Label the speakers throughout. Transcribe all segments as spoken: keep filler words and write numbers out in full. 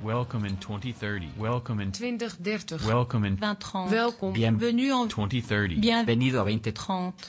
Speaker 1: Welcome in twenty thirty. Welcome in
Speaker 2: twintig dertig.
Speaker 1: Welcome in
Speaker 2: vingt trente.
Speaker 3: Welkom.
Speaker 2: Bienvenue en
Speaker 1: twenty thirty.
Speaker 3: Bienvenido a veinte
Speaker 2: trente.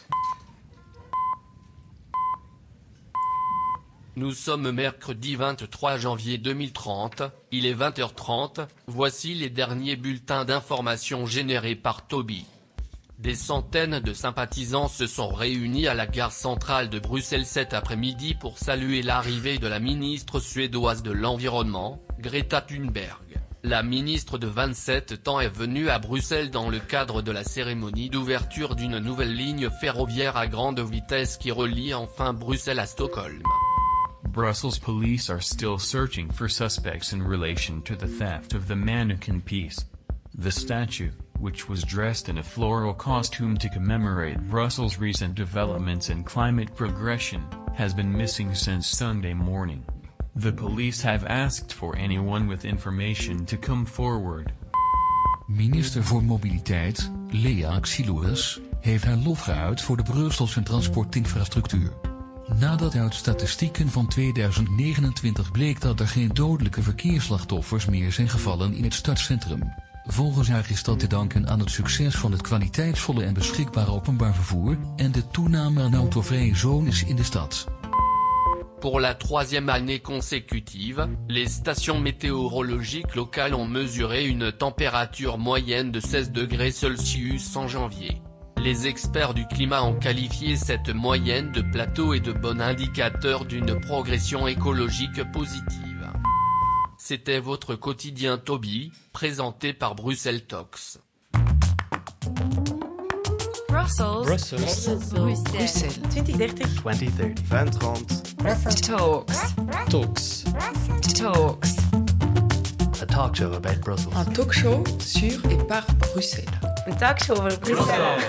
Speaker 4: Nous sommes mercredi vingt-trois janvier deux mille trente, il est vingt heures trente, voici les derniers bulletins d'information générés par Toby. Des centaines de sympathisants se sont réunis à la gare centrale de Bruxelles cet après-midi pour saluer l'arrivée de la ministre suédoise de l'Environnement, Greta Thunberg. La ministre de vingt-sept ans est venue à Bruxelles dans le cadre de la cérémonie d'ouverture d'une nouvelle ligne ferroviaire à grande vitesse qui relie enfin Bruxelles à Stockholm.
Speaker 1: Brussels police are still searching for suspects in relation to the theft of the mannequin piece. The statue, which was dressed in a floral costume to commemorate Brussels' recent developments in climate progression, has been missing since Sunday morning. The police have asked for anyone with information to come forward.
Speaker 5: Minister voor Mobiliteit, Lea Xylouris, heeft haar lof geuit voor de Brusselse transportinfrastructuur. Nadat uit statistieken van tweeduizend negenentwintig bleek dat er geen dodelijke verkeersslachtoffers meer zijn gevallen in het stadscentrum. Volgens haar is dat te danken aan het succes van het kwaliteitsvolle en beschikbare openbaar vervoer en de toename aan autovrije zones in de stad.
Speaker 4: Pour la troisième année consécutive, les stations météorologiques locales ont mesuré une température moyenne de seize degrés Celsius en janvier. Les experts du climat ont qualifié cette moyenne de plateau et de bon indicateur d'une progression écologique positive. C'était votre quotidien Toby, présenté par Bruxelles Talks.
Speaker 2: Brussels.
Speaker 6: Brussels.
Speaker 2: Brussels. Bruxelles.
Speaker 3: twintig dertig.
Speaker 6: twenty thirty.
Speaker 7: vingt trente.
Speaker 2: Talks.
Speaker 6: Talks.
Speaker 2: Talks.
Speaker 6: A talk show about Brussels.
Speaker 8: Un talk show sur et par Bruxelles.
Speaker 3: Een talkshow over Bruxelles.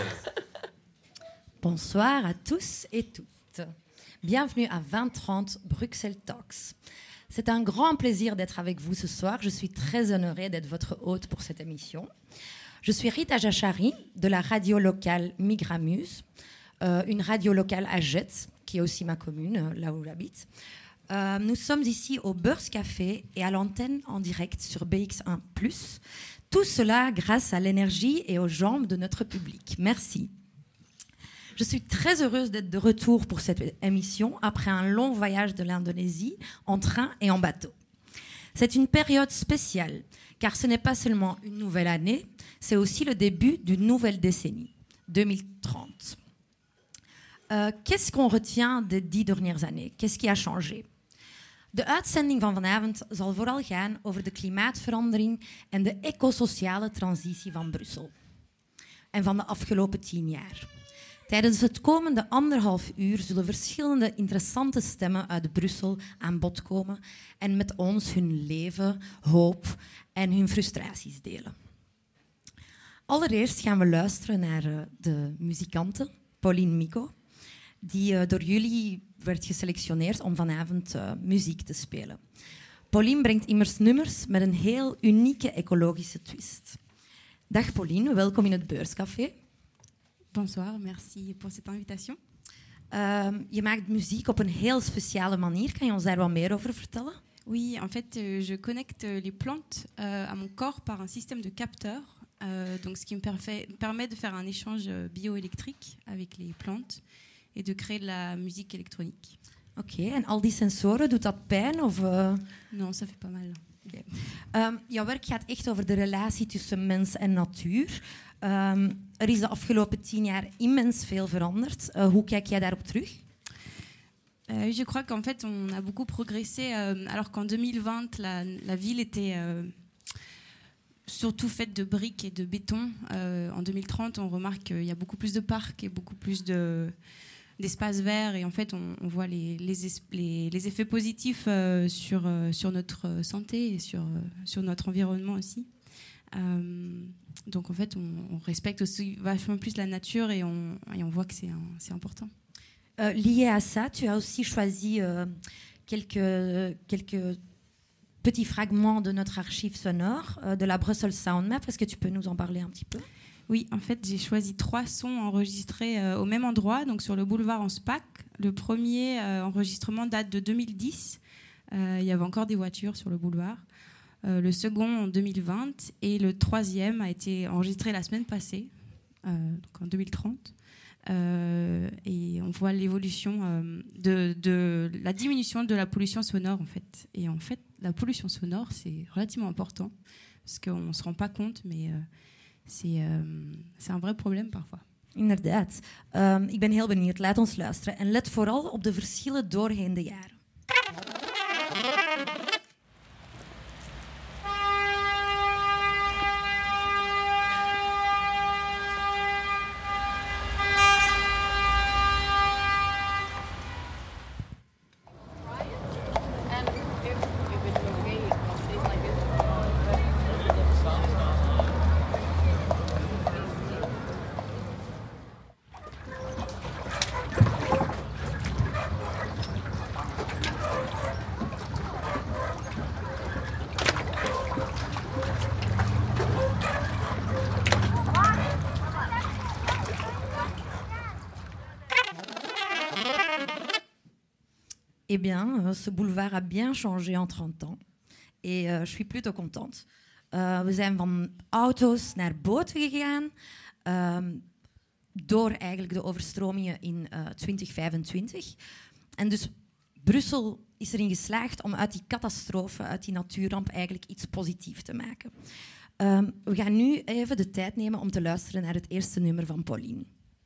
Speaker 9: Bonsoir à tous et toutes. Bienvenue à vingt trente Bruxelles Talks. C'est un grand plaisir d'être avec vous ce soir. Je suis très honorée d'être votre hôte pour cette émission. Je suis Rita Jachari de la radio locale Migramuse, euh, une radio locale à Jette, qui est aussi ma commune, euh, là où j'habite. Euh, nous sommes ici au Beurscafé et à l'antenne en direct sur B X un plus. Tout cela grâce à l'énergie et aux jambes de notre public. Merci. Je suis très heureuse d'être de retour pour cette émission après un long voyage de l'Indonésie en train et en bateau. C'est une période spéciale car ce n'est pas seulement une nouvelle année, c'est aussi le début d'une nouvelle décennie, deux mille trente. Euh, qu'est-ce qu'on retient des dix dernières années? Qu'est-ce qui a changé? De uitzending van vanavond zal vooral gaan over de klimaatverandering en de ecosociale transitie van Brussel. En van de afgelopen tien jaar. Tijdens het komende anderhalf uur zullen verschillende interessante stemmen uit Brussel aan bod komen en met ons hun leven, hoop en hun frustraties delen. Allereerst gaan we luisteren naar uh, de muzikante Pauline Mico, die uh, door jullie werd geselectioneerd om vanavond uh, muziek te spelen. Pauline brengt immers nummers met een heel unieke ecologische twist. Dag Pauline, welkom in het Beurscafé.
Speaker 10: Bonsoir, merci pour cette invitation.
Speaker 9: Uh, je maakt muziek op een heel speciale manier. Kan je ons daar wat meer over vertellen?
Speaker 10: Oui, en fait, euh, je connecte les plantes euh, à mon corps par un système de capteurs, euh, donc ce qui me permet, permet de faire un échange bioélectrique avec les plantes et de créer de la musique électronique.
Speaker 9: Oké, okay, en al die sensoren, doet dat pijn? Of, uh...
Speaker 10: Non, ça fait pas mal.
Speaker 9: Okay. Um, jouw werk gaat echt over de relatie tussen mens en natuur. Um, er is de afgelopen tien jaar immens veel veranderd. Uh, hoe kijk jij daarop terug?
Speaker 10: Euh, je crois qu'en fait, on a beaucoup progressé, euh, alors qu'en deux mille vingt, la, la ville était euh, surtout faite de briques et de béton. Euh, en deux mille trente, on remarque qu'il y a beaucoup plus de parcs et beaucoup plus de, d'espaces verts. Et en fait, on, on voit les, les, es, les, les effets positifs euh, sur, euh, sur notre santé et sur, euh, sur notre environnement aussi. Euh, donc en fait, on, on respecte aussi vachement plus la nature et on, et on voit que c'est, un, c'est important.
Speaker 9: Euh, lié à ça, tu as aussi choisi euh, quelques, quelques petits fragments de notre archive sonore, euh, de la Brussels Sound Map. Est-ce que tu peux nous en parler un petit peu?
Speaker 10: Oui, en fait, j'ai choisi trois sons enregistrés euh, au même endroit, donc sur le boulevard en SPAC. Le premier euh, enregistrement date de deux mille dix. Euh, il y avait encore des voitures sur le boulevard. euh, le second en deux mille vingt et le troisième a été enregistré la semaine passée, euh, donc en deux mille trente. Euh, et on voit l'évolution euh, de, de la diminution de la pollution sonore en fait. Et en fait, la pollution sonore, c'est relativement important parce qu'on ne se rend pas compte, mais euh, c'est, euh, c'est un vrai probleem parfois.
Speaker 9: Inderdaad. Um, ik ben heel benieuwd. Laat ons luisteren. En let vooral op de verschillen doorheen de jaren. Eh bien, euh, ce boulevard a bien changé en trente ans. Et uh, je suis plutôt contente. Uh, we zijn van auto's naar boten gegaan. Um, door eigenlijk de overstromingen in uh, twintig vijfentwintig. En dus Brussel is erin geslaagd om uit die catastrofe, uit die natuurramp, eigenlijk iets positiefs te maken. Um, we gaan nu even de tijd nemen om te luisteren naar het eerste nummer van Pauline.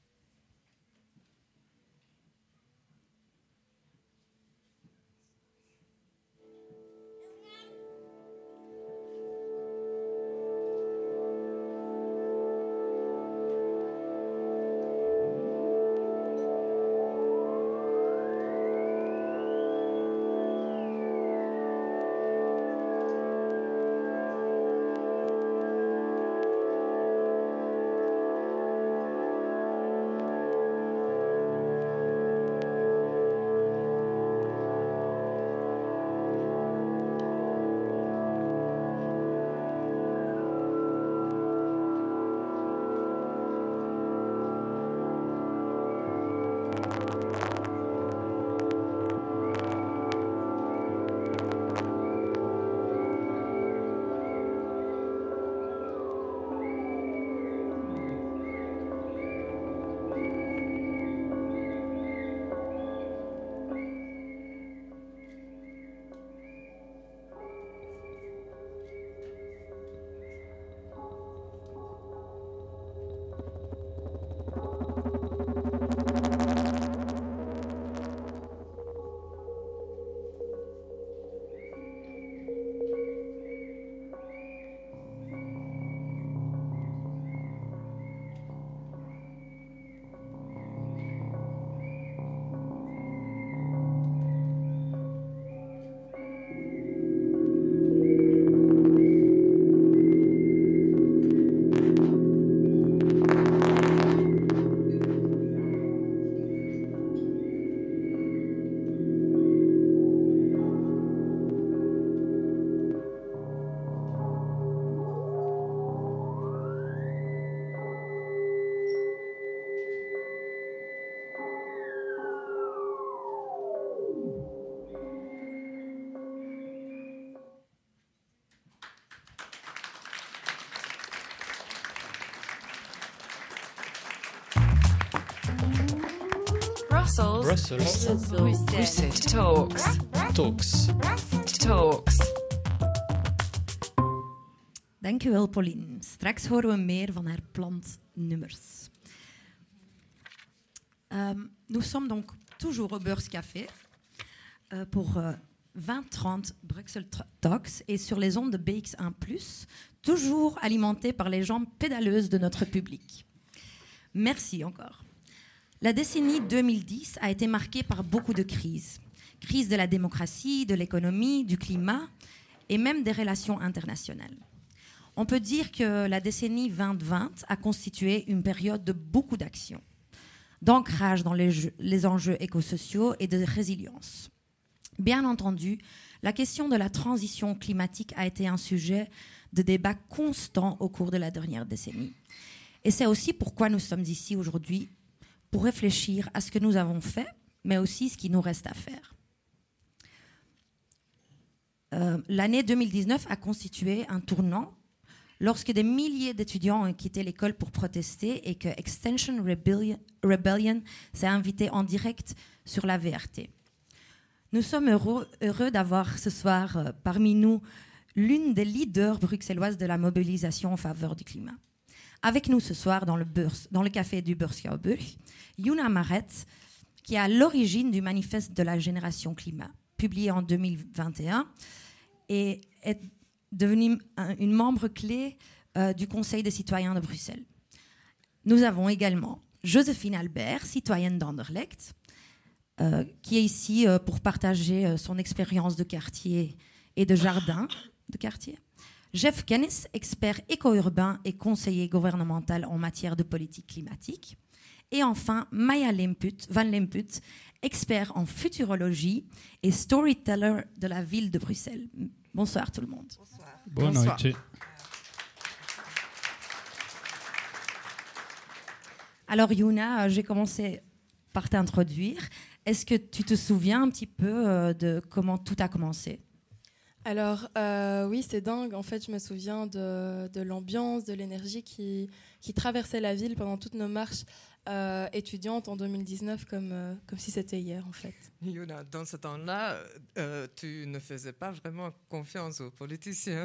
Speaker 2: Brussels.
Speaker 6: Brussels.
Speaker 2: Brussels. Talks.
Speaker 6: Talks.
Speaker 2: Talks.
Speaker 9: Dankjewel, Pauline. Straks horen we meer van haar plantnummers. Um, nous sommes donc toujours au Beurs Café euh, pour euh, vingt trente Bruxelles Talks et sur les ondes de B X un plus, toujours alimentés par les jambes pédaleuses de notre public. Merci encore. La décennie deux mille dix a été marquée par beaucoup de crises. Crise de la démocratie, de l'économie, du climat et même des relations internationales. On peut dire que la décennie vingt vingt a constitué une période de beaucoup d'actions, d'ancrage dans les, jeux, les enjeux écosociaux et de résilience. Bien entendu, la question de la transition climatique a été un sujet de débat constant au cours de la dernière décennie. Et c'est aussi pourquoi nous sommes ici aujourd'hui, pour réfléchir à ce que nous avons fait, mais aussi ce qu'il nous reste à faire. Euh, l'année deux mille dix-neuf a constitué un tournant lorsque des milliers d'étudiants ont quitté l'école pour protester et que Extinction Rebellion, Rebellion s'est invité en direct sur la V R T. Nous sommes heureux, heureux d'avoir ce soir euh, parmi nous l'une des leaders bruxelloises de la mobilisation en faveur du climat. Avec nous ce soir dans le, Beurs, dans le café du Beurschouwburg, Yuna Maret, qui est à l'origine du manifeste de la génération climat, publié en deux mille vingt et un, et est devenue un, une membre clé euh, du Conseil des citoyens de Bruxelles. Nous avons également Joséphine Albert, citoyenne d'Anderlecht, euh, qui est ici euh, pour partager euh, son expérience de quartier et de jardin de quartier. Jeff Kennis, expert éco-urbain et conseiller gouvernemental en matière de politique climatique. Et enfin, Maya Lemput, Van Lemput, expert en futurologie et storyteller de la ville de Bruxelles. Bonsoir tout le monde.
Speaker 7: Bonsoir. Boa noite.
Speaker 9: Alors Yuna, euh, j'ai commencé par t'introduire. Est-ce que tu te souviens un petit peu euh, de comment tout a commencé ?
Speaker 11: Alors euh, oui, c'est dingue. En fait, je me souviens de, de l'ambiance, de l'énergie qui, qui traversait la ville pendant toutes nos marches euh, étudiantes en deux mille dix-neuf, comme, euh, comme si c'était hier en fait.
Speaker 12: Yuna, dans ce temps-là, euh, tu ne faisais pas vraiment confiance aux politiciens.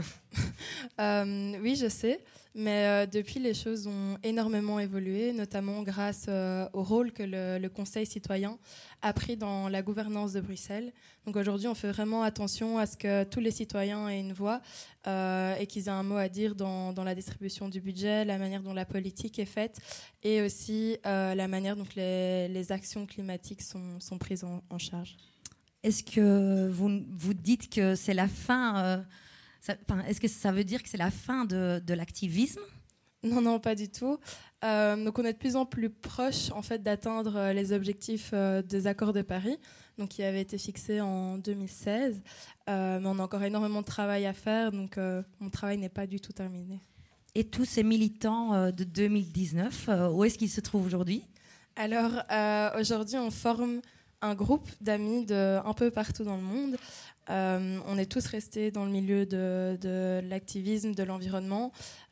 Speaker 11: euh, oui, je sais, mais euh, depuis, les choses ont énormément évolué, notamment grâce euh, au rôle que le, le Conseil citoyen a pris dans la gouvernance de Bruxelles. Donc aujourd'hui, on fait vraiment attention à ce que tous les citoyens aient une voix euh, et qu'ils aient un mot à dire dans, dans la distribution du budget, la manière dont la politique est faite et aussi euh, la manière dont les, les actions climatiques sont, sont prises en, en charge.
Speaker 9: Est-ce que vous, vous dites que c'est la fin euh, ça, est-ce que ça veut dire que c'est la fin de, de l'activisme ?
Speaker 11: Non, non, pas du tout. Euh, donc on est de plus en plus proche en fait, d'atteindre les objectifs euh, des accords de Paris, donc, qui avaient été fixés en deux mille seize. Euh, mais on a encore énormément de travail à faire, donc euh, mon travail n'est pas du tout terminé.
Speaker 9: Et tous ces militants euh, de deux mille dix-neuf, euh, où est-ce qu'ils se trouvent aujourd'hui ?
Speaker 11: Alors euh, aujourd'hui, on forme un groupe d'amis de un peu partout dans le monde. Euh, on est tous restés dans le milieu de, de l'activisme, de l'environnement.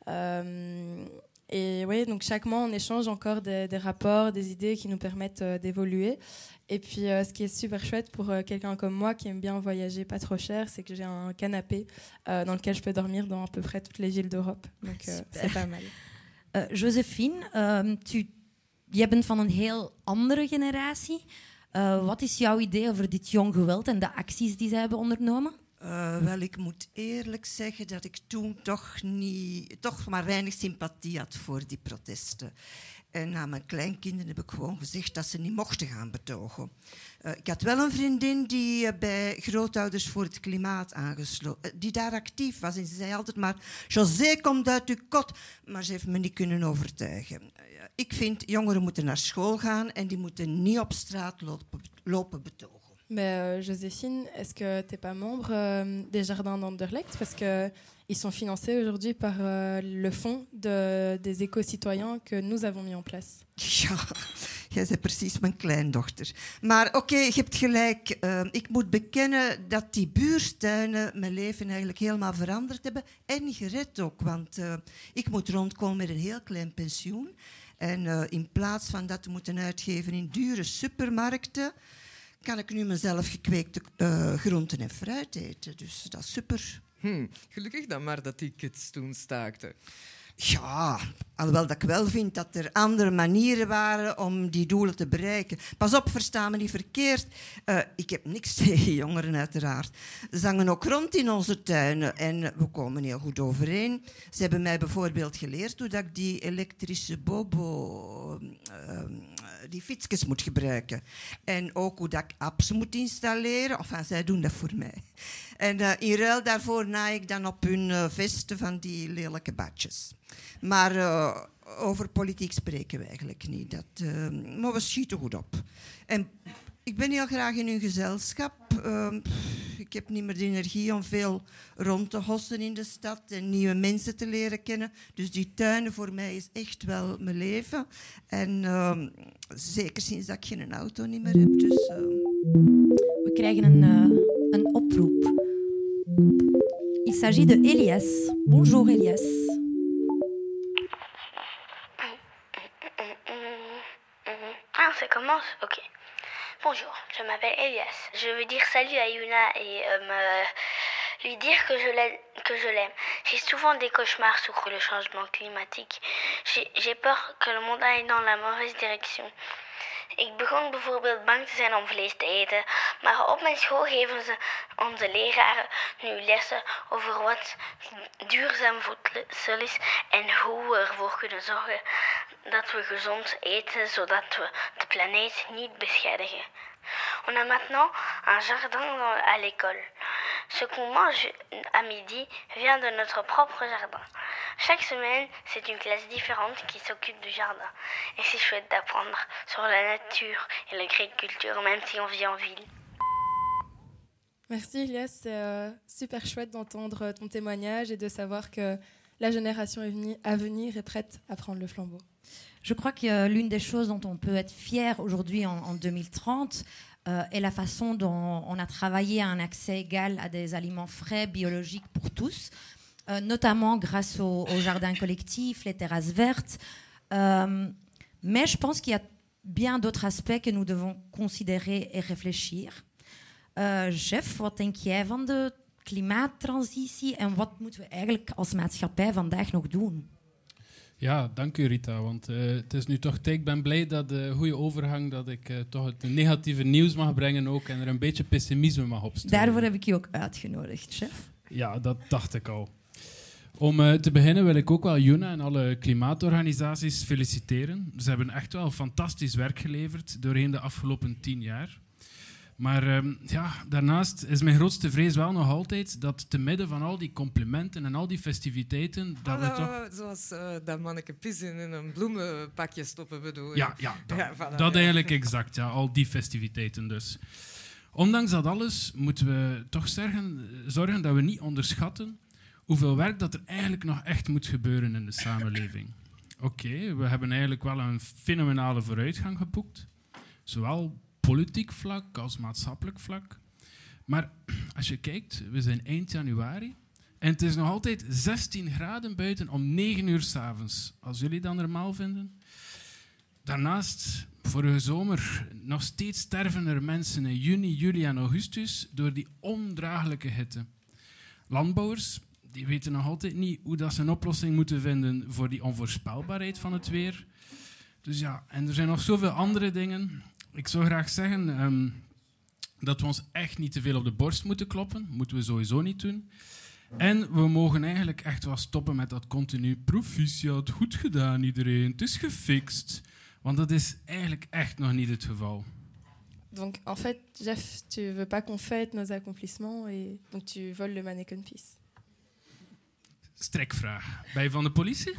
Speaker 11: Euh, et oui, donc chaque mois, on échange encore des, des rapports, des idées qui nous permettent euh, d'évoluer. Et puis, euh, ce qui est super chouette pour euh, quelqu'un comme moi qui aime bien voyager pas trop cher, c'est que j'ai un canapé euh, dans lequel je peux dormir dans à peu près toutes les villes d'Europe. Donc, euh, c'est pas mal.
Speaker 9: Uh, Joséphine, uh, tu, jij bent van een heel andere generatie. Uh, wat is jouw idee over dit jong geweld en de acties die zij hebben ondernomen?
Speaker 13: Uh, wel, ik moet eerlijk zeggen dat ik toen toch, niet, toch maar weinig sympathie had voor die protesten. En aan mijn kleinkinderen heb ik gewoon gezegd dat ze niet mochten gaan betogen. Uh, ik had wel een vriendin die uh, bij Grootouders voor het Klimaat aangesloten, uh, die daar actief was. En ze zei altijd maar, José, kom uit uw kot. Maar ze heeft me niet kunnen overtuigen. Uh, ik vind, jongeren moeten naar school gaan en die moeten niet op straat lopen, lopen betogen.
Speaker 11: Mais euh, Joséphine, est-ce que tu n'es pas membre euh, des Jardins d'Anderlecht? Parce qu'ils sont financés aujourd'hui par euh, le fonds de, des éco-citoyens que nous avons mis en place.
Speaker 13: Ja, jij bent precies mijn kleindochter. Maar oké, okay, je hebt gelijk. Uh, ik moet bekennen dat die buurtuinen mijn leven eigenlijk helemaal veranderd hebben. En gered ook, want uh, ik moet rondkomen met een heel klein pensioen. En uh, in plaats van dat te moeten uitgeven in dure supermarkten, kan ik nu mezelf gekweekte uh, groenten en fruit eten. Dus dat is super.
Speaker 12: Hm, gelukkig dan maar dat die kids toen staakten.
Speaker 13: Ja, alhoewel dat ik wel vind dat er andere manieren waren om die doelen te bereiken. Pas op, versta me niet verkeerd. Uh, ik heb niks tegen jongeren uiteraard. Ze hangen ook rond in onze tuinen en we komen heel goed overeen. Ze hebben mij bijvoorbeeld geleerd hoe dat ik die elektrische bobo, uh, die fietsjes moet gebruiken. En ook hoe dat ik apps moet installeren. Enfin, zij doen dat voor mij. En uh, in ruil daarvoor naai ik dan op hun uh, vesten van die lelijke badjes. Maar uh, over politiek spreken we eigenlijk niet. Dat, uh, maar we schieten goed op. En ik ben heel graag in hun gezelschap. Uh, ik heb niet meer de energie om veel rond te hossen in de stad en nieuwe mensen te leren kennen. Dus die tuinen voor mij is echt wel mijn leven. En uh, zeker sinds dat ik geen auto niet meer heb. Dus, uh...
Speaker 9: We krijgen een, uh, een oproep. Il s'agit de Elias. Bonjour Elias.
Speaker 7: Ah, ça commence? Ok. Bonjour, je m'appelle Elias. Je veux dire salut à Yuna et euh, me... lui dire que je l'aime. Que je l'aime. J'ai souvent des cauchemars sur le changement climatique. J'ai, j'ai peur que le monde aille dans la mauvaise direction. Ik begon bijvoorbeeld bang te zijn om vlees te eten, maar op mijn school geven ze onze leraren nu lessen over wat duurzaam voedsel is en hoe we ervoor kunnen zorgen dat we gezond eten, zodat we de planeet niet beschadigen. On a maintenant un jardin à l'école. Ce qu'on mange à midi vient de notre propre jardin. Chaque semaine, c'est une classe différente qui s'occupe du jardin. Et c'est chouette d'apprendre sur la nature et l'agriculture, même si on vit en ville.
Speaker 11: Merci Elias, c'est euh, super chouette d'entendre ton témoignage et de savoir que la génération à venir est prête à prendre le flambeau.
Speaker 9: Je crois que euh, l'une des choses dont on peut être fier aujourd'hui en, en deux mille trente euh, est la façon dont on a travaillé à un accès égal à des aliments frais, biologiques pour tous, euh, notamment grâce au, au jardin collectif, les terrasses vertes. Euh, mais je pense qu'il y a bien d'autres aspects que nous devons considérer et réfléchir. Uh, Jeff, wat denk jij van de klimaattransitie en wat moeten we eigenlijk als maatschappij vandaag nog doen?
Speaker 14: Ja, dank u Rita, want uh, het is nu toch tijd. Ik ben blij dat de goede overgang, dat ik uh, toch het negatieve nieuws mag brengen ook en er een beetje pessimisme mag opsturen.
Speaker 9: Daarvoor heb ik je ook uitgenodigd, chef.
Speaker 14: Ja, dat dacht ik al. Om uh, te beginnen wil ik ook wel Yuna en alle klimaatorganisaties feliciteren. Ze hebben echt wel fantastisch werk geleverd doorheen de afgelopen tien jaar. Maar um, ja, daarnaast is mijn grootste vrees wel nog altijd dat te midden van al die complimenten en al die festiviteiten... Dat
Speaker 12: Hallo,
Speaker 14: we toch...
Speaker 12: Zoals uh, dat manneke pissen in een bloemenpakje stoppen bedoel je?
Speaker 14: Ja, ja, dat,
Speaker 12: ja, voilà,
Speaker 14: dat
Speaker 12: ja.
Speaker 14: eigenlijk exact. Ja, al die festiviteiten dus. Ondanks dat alles moeten we toch zorgen, zorgen dat we niet onderschatten hoeveel werk dat er eigenlijk nog echt moet gebeuren in de samenleving. Oké, okay, we hebben eigenlijk wel een fenomenale vooruitgang geboekt. Zowel politiek vlak als maatschappelijk vlak. Maar als je kijkt, we zijn eind januari en het is nog altijd zestien graden buiten om negen uur 's avonds. Als jullie dat normaal vinden. Daarnaast, vorige zomer, nog steeds sterven er mensen in juni, juli en augustus door die ondraaglijke hitte. Landbouwers die weten nog altijd niet hoe dat ze een oplossing moeten vinden voor die onvoorspelbaarheid van het weer. Dus ja, en er zijn nog zoveel andere dingen. Ik zou graag zeggen um, dat we ons echt niet te veel op de borst moeten kloppen. Moeten we sowieso niet doen. En we mogen eigenlijk echt wel stoppen met dat continu proficiat, goed gedaan iedereen, het is gefixt. Want dat is eigenlijk echt nog niet het geval.
Speaker 11: Donc en fait, Jeff, tu veux pas qu'on fête nos accomplissements et donc tu voles le mannequin peace.
Speaker 14: Strikvraag. Ben je van de politie?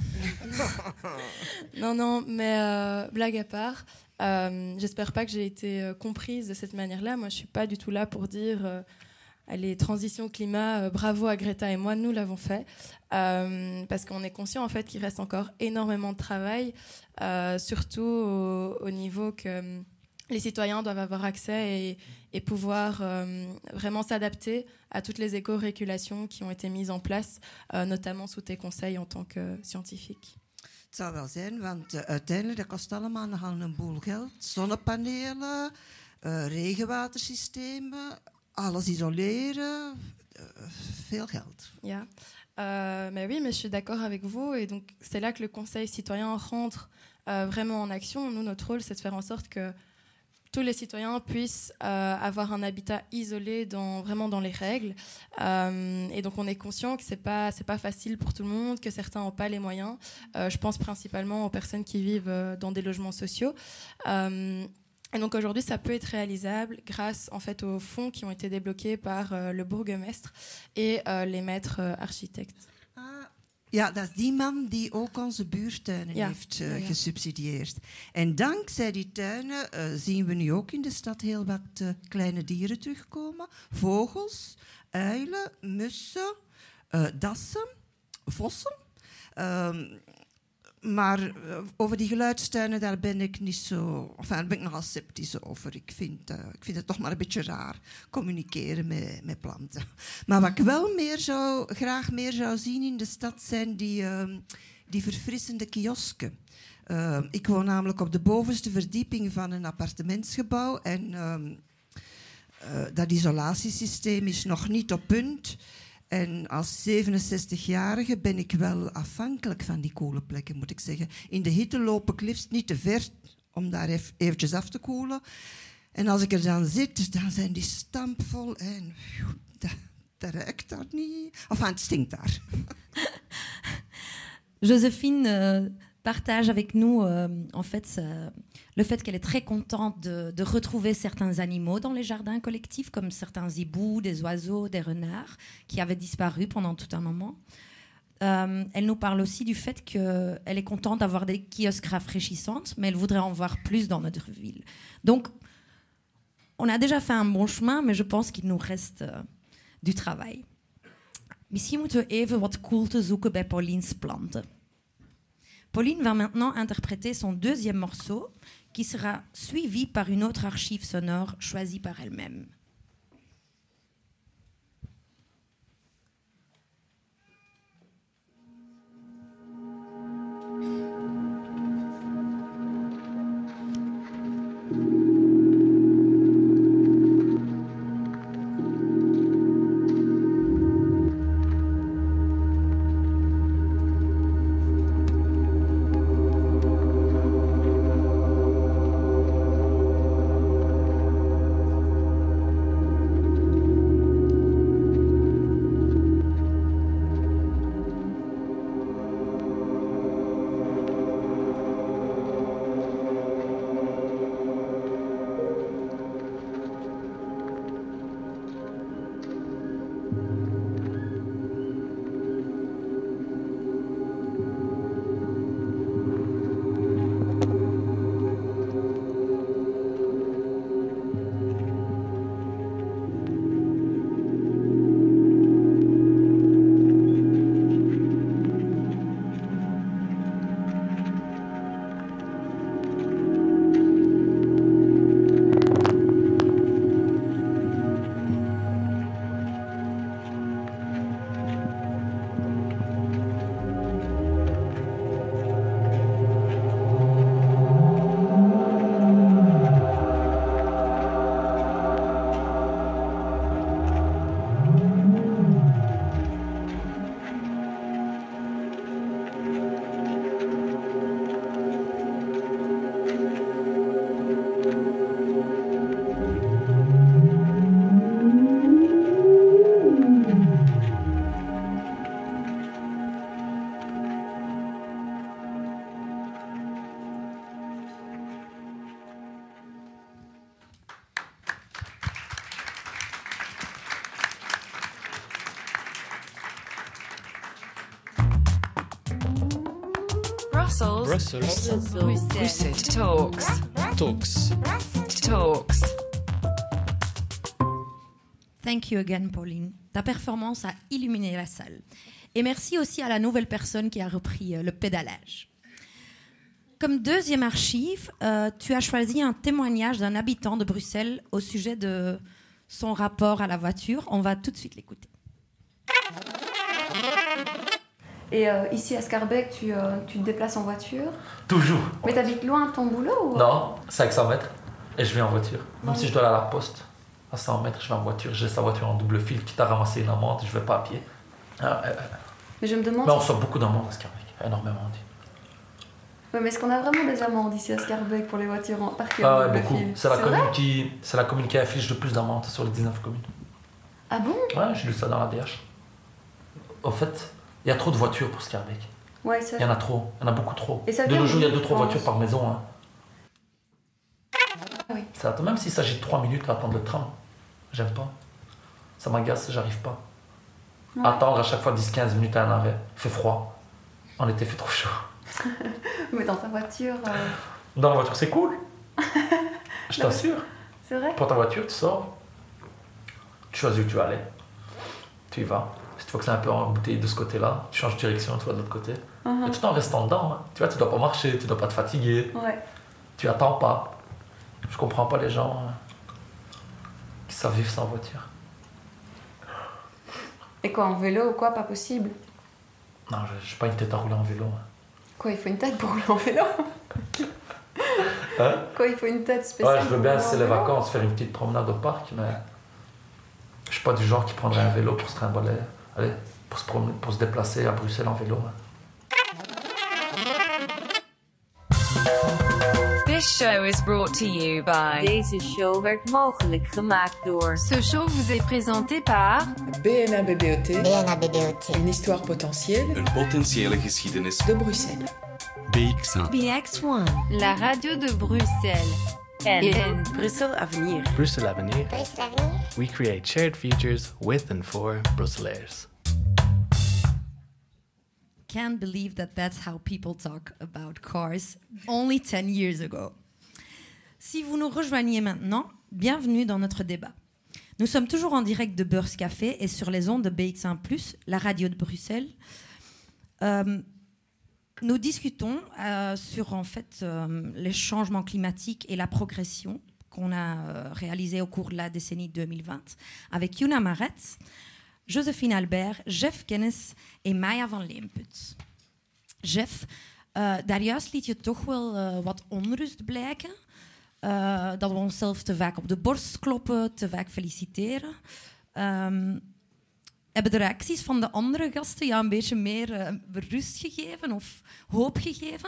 Speaker 11: Non, non, mais euh, blague à part, euh, j'espère pas que j'ai été euh, comprise de cette manière-là. Moi, je suis pas du tout là pour dire euh, allez, transition climat, euh, bravo à Greta et moi, nous l'avons fait. Euh, parce qu'on est conscient en fait qu'il reste encore énormément de travail, euh, surtout au, au niveau que les citoyens doivent avoir accès et, et pouvoir euh, vraiment s'adapter à toutes les éco-régulations qui ont été mises en place, euh, notamment sous tes conseils en tant que scientifique.
Speaker 13: Het zou wel zijn, want uh, uiteindelijk dat kost allemaal nogal een boel geld. Zonnepanelen, uh, regenwatersystemen, alles isoleren, uh, veel geld.
Speaker 11: Ja, euh, mais oui, mais je suis d'accord avec vous. Et donc, c'est là que le Conseil citoyen rentre euh, vraiment en action. Nous, notre rôle, c'est de faire en sorte que tous les citoyens puissent euh, avoir un habitat isolé dans, vraiment dans les règles. Euh, et donc on est conscient que c'est pas, c'est pas facile pour tout le monde, que certains n'ont pas les moyens. Euh, je pense principalement aux personnes qui vivent euh, dans des logements sociaux. Euh, et donc aujourd'hui, ça peut être réalisable grâce en fait aux fonds qui ont été débloqués par euh, le bourgmestre et euh, les maîtres euh, architectes.
Speaker 13: Ja, dat is die man die ook onze buurtuinen ja. heeft uh, ja, ja. gesubsidieerd. En dankzij die tuinen uh, zien we nu ook in de stad heel wat uh, kleine dieren terugkomen. Vogels, uilen, mussen, uh, dassen, vossen. Um, maar uh, over die geluidstuinen, daar ben ik niet zo... Enfin, daar ben ik nogal sceptisch over. Ik vind, uh, ik vind het toch maar een beetje raar, communiceren met, met planten. Maar wat ik wel meer zou, graag meer zou zien in de stad, zijn die, uh, die verfrissende kiosken. Uh, ik woon namelijk op de bovenste verdieping van een appartementsgebouw. En uh, uh, dat isolatiesysteem is nog niet op punt. En als zevenenzestigjarige ben ik wel afhankelijk van die koele plekken, moet ik zeggen. In de hitte loop ik liefst niet te ver om daar even eventjes af te koelen. En als ik er dan zit, dan zijn die stampvol en dat, dat ruikt daar niet. Enfin, het stinkt daar.
Speaker 9: Joséphine euh, partage avec nous euh, en fait euh, le fait qu'elle est très contente de, de retrouver certains animaux dans les jardins collectifs, comme certains hiboux, des oiseaux, des renards, qui avaient disparu pendant tout un moment. Euh, elle nous parle aussi du fait qu'elle est contente d'avoir des kiosques rafraîchissantes, mais elle voudrait en voir plus dans notre ville. Donc, on a déjà fait un bon chemin, mais je pense qu'il nous reste uh, du travail. Misschien moeten we even wat koelte zoeken bij Pauline's planten. Pauline va maintenant interpréter son deuxième morceau, qui sera suivi par une autre archive sonore choisie par elle-même.
Speaker 2: Brussels.
Speaker 6: Brussels.
Speaker 2: Brussels. Talks.
Speaker 6: Talks.
Speaker 2: Talks.
Speaker 9: Thank you again, Pauline. Ta performance a illuminé la salle. Et merci aussi à la nouvelle personne qui a repris euh, le pédalage. Comme deuxième archive, euh, tu as choisi un témoignage d'un habitant de Bruxelles au sujet de son rapport à la voiture. On va tout de suite l'écouter.
Speaker 15: Et euh, ici à Scarbeck, tu, euh, tu te déplaces en voiture?
Speaker 16: Toujours.
Speaker 15: Mais t'habites loin de ton boulot ou...
Speaker 16: Non, cinq cents mètres. Et je vais en voiture. Même
Speaker 15: Ouais.
Speaker 16: si je dois aller à la poste, à cent mètres, je vais en voiture. J'ai sa voiture en double fil, quitte à ramasser une amende, je vais pas à pied. Ah, euh,
Speaker 15: Mais je me demande...
Speaker 16: mais on
Speaker 15: si-
Speaker 16: sort beaucoup d'amendes à Scarbeck. Énormément. dit.
Speaker 15: Ouais, mais est-ce qu'on a vraiment des amendes ici à Scarbeck pour les voitures en parquées
Speaker 16: Ah
Speaker 15: en
Speaker 16: ouais,
Speaker 15: double
Speaker 16: beaucoup.
Speaker 15: fil?
Speaker 16: C'est la,
Speaker 15: vrai
Speaker 16: commune qui, c'est la commune qui inflige le plus d'amendes sur les dix-neuf communes.
Speaker 15: Ah bon?
Speaker 16: Ouais, j'ai lu ça dans la D H. En fait, il y a trop de voitures pour Scarbeck.
Speaker 15: Ouais, ça...
Speaker 16: Il y en a trop, il y en a beaucoup trop.
Speaker 15: Et ça
Speaker 16: De
Speaker 15: vient
Speaker 16: nos jours, il y a
Speaker 15: d'où,
Speaker 16: deux trois
Speaker 15: je pense
Speaker 16: voitures par maison. Hein.
Speaker 15: Ah oui.
Speaker 16: Ça attend, même s'il s'agit de trois minutes à attendre le tram. J'aime pas. Ça m'agace, j'arrive pas.
Speaker 15: Ouais.
Speaker 16: Attendre à chaque fois dix quinze minutes à un arrêt. Il fait froid. En été, il fait trop chaud.
Speaker 15: Mais dans ta voiture... euh,
Speaker 16: Dans la voiture, c'est cool. Je
Speaker 15: Non,
Speaker 16: t'assure.
Speaker 15: C'est vrai?
Speaker 16: Prends ta voiture, tu sors. Tu choisis où tu vas aller. Tu y vas. Si tu faut que c'est un peu embouteillé de ce côté-là. Tu changes de direction, tu vas de l'autre côté.
Speaker 15: Uh-huh.
Speaker 16: Et tout en restant dedans. Hein. Tu vois, tu dois pas marcher, tu dois pas te fatiguer.
Speaker 15: Ouais.
Speaker 16: Tu attends pas. Je comprends pas les gens hein, qui savent vivre sans voiture.
Speaker 15: Et quoi, en vélo ou quoi, pas possible?
Speaker 16: Non, je n'ai pas une tête à rouler en vélo. Hein.
Speaker 15: Quoi, il faut une tête pour rouler en vélo?
Speaker 16: Hein?
Speaker 15: Quoi, il faut une tête spéciale?
Speaker 16: Ouais, je veux bien, c'est les vacances, faire une petite promenade au parc, mais je suis pas du genre qui prendrait un vélo pour se trimballer, allez, pour se, promener, pour se déplacer à Bruxelles en vélo. Hein.
Speaker 2: This show is brought to you by.
Speaker 17: Deze show werd mogelijk gemaakt door.
Speaker 2: Ce show vous est présenté par
Speaker 8: B N A B B O T. B N A B B O T. Une histoire potentielle.
Speaker 18: Een potentiële geschiedenis.
Speaker 8: De Bruxelles.
Speaker 18: B X un.
Speaker 17: B X one.
Speaker 2: la radio de Bruxelles.
Speaker 17: En
Speaker 3: Bruxelles Avenir.
Speaker 6: Bruxelles Avenir. We create shared futures with and for Brusselaars.
Speaker 9: Can't believe that that's how people talk about cars only ten years ago. Si vous nous rejoignez maintenant, bienvenue dans notre débat. Nous sommes toujours en direct de Beurs Café et sur les ondes de B X un plus, la radio de Bruxelles. Euh, nous discutons euh, sur en fait euh, les changements climatiques et la progression qu'on a euh, réalisée au cours de la décennie deux mille vingt avec Yuna Maretz, Josephine Albert, Jeff Kennis en Maya van Leemput. Jeff, uh, daarjuist liet je toch wel uh, wat onrust blijken. Uh, dat we onszelf te vaak op de borst kloppen, te vaak feliciteren. Um, hebben de reacties van de andere gasten jou een beetje meer uh, rust gegeven of hoop gegeven?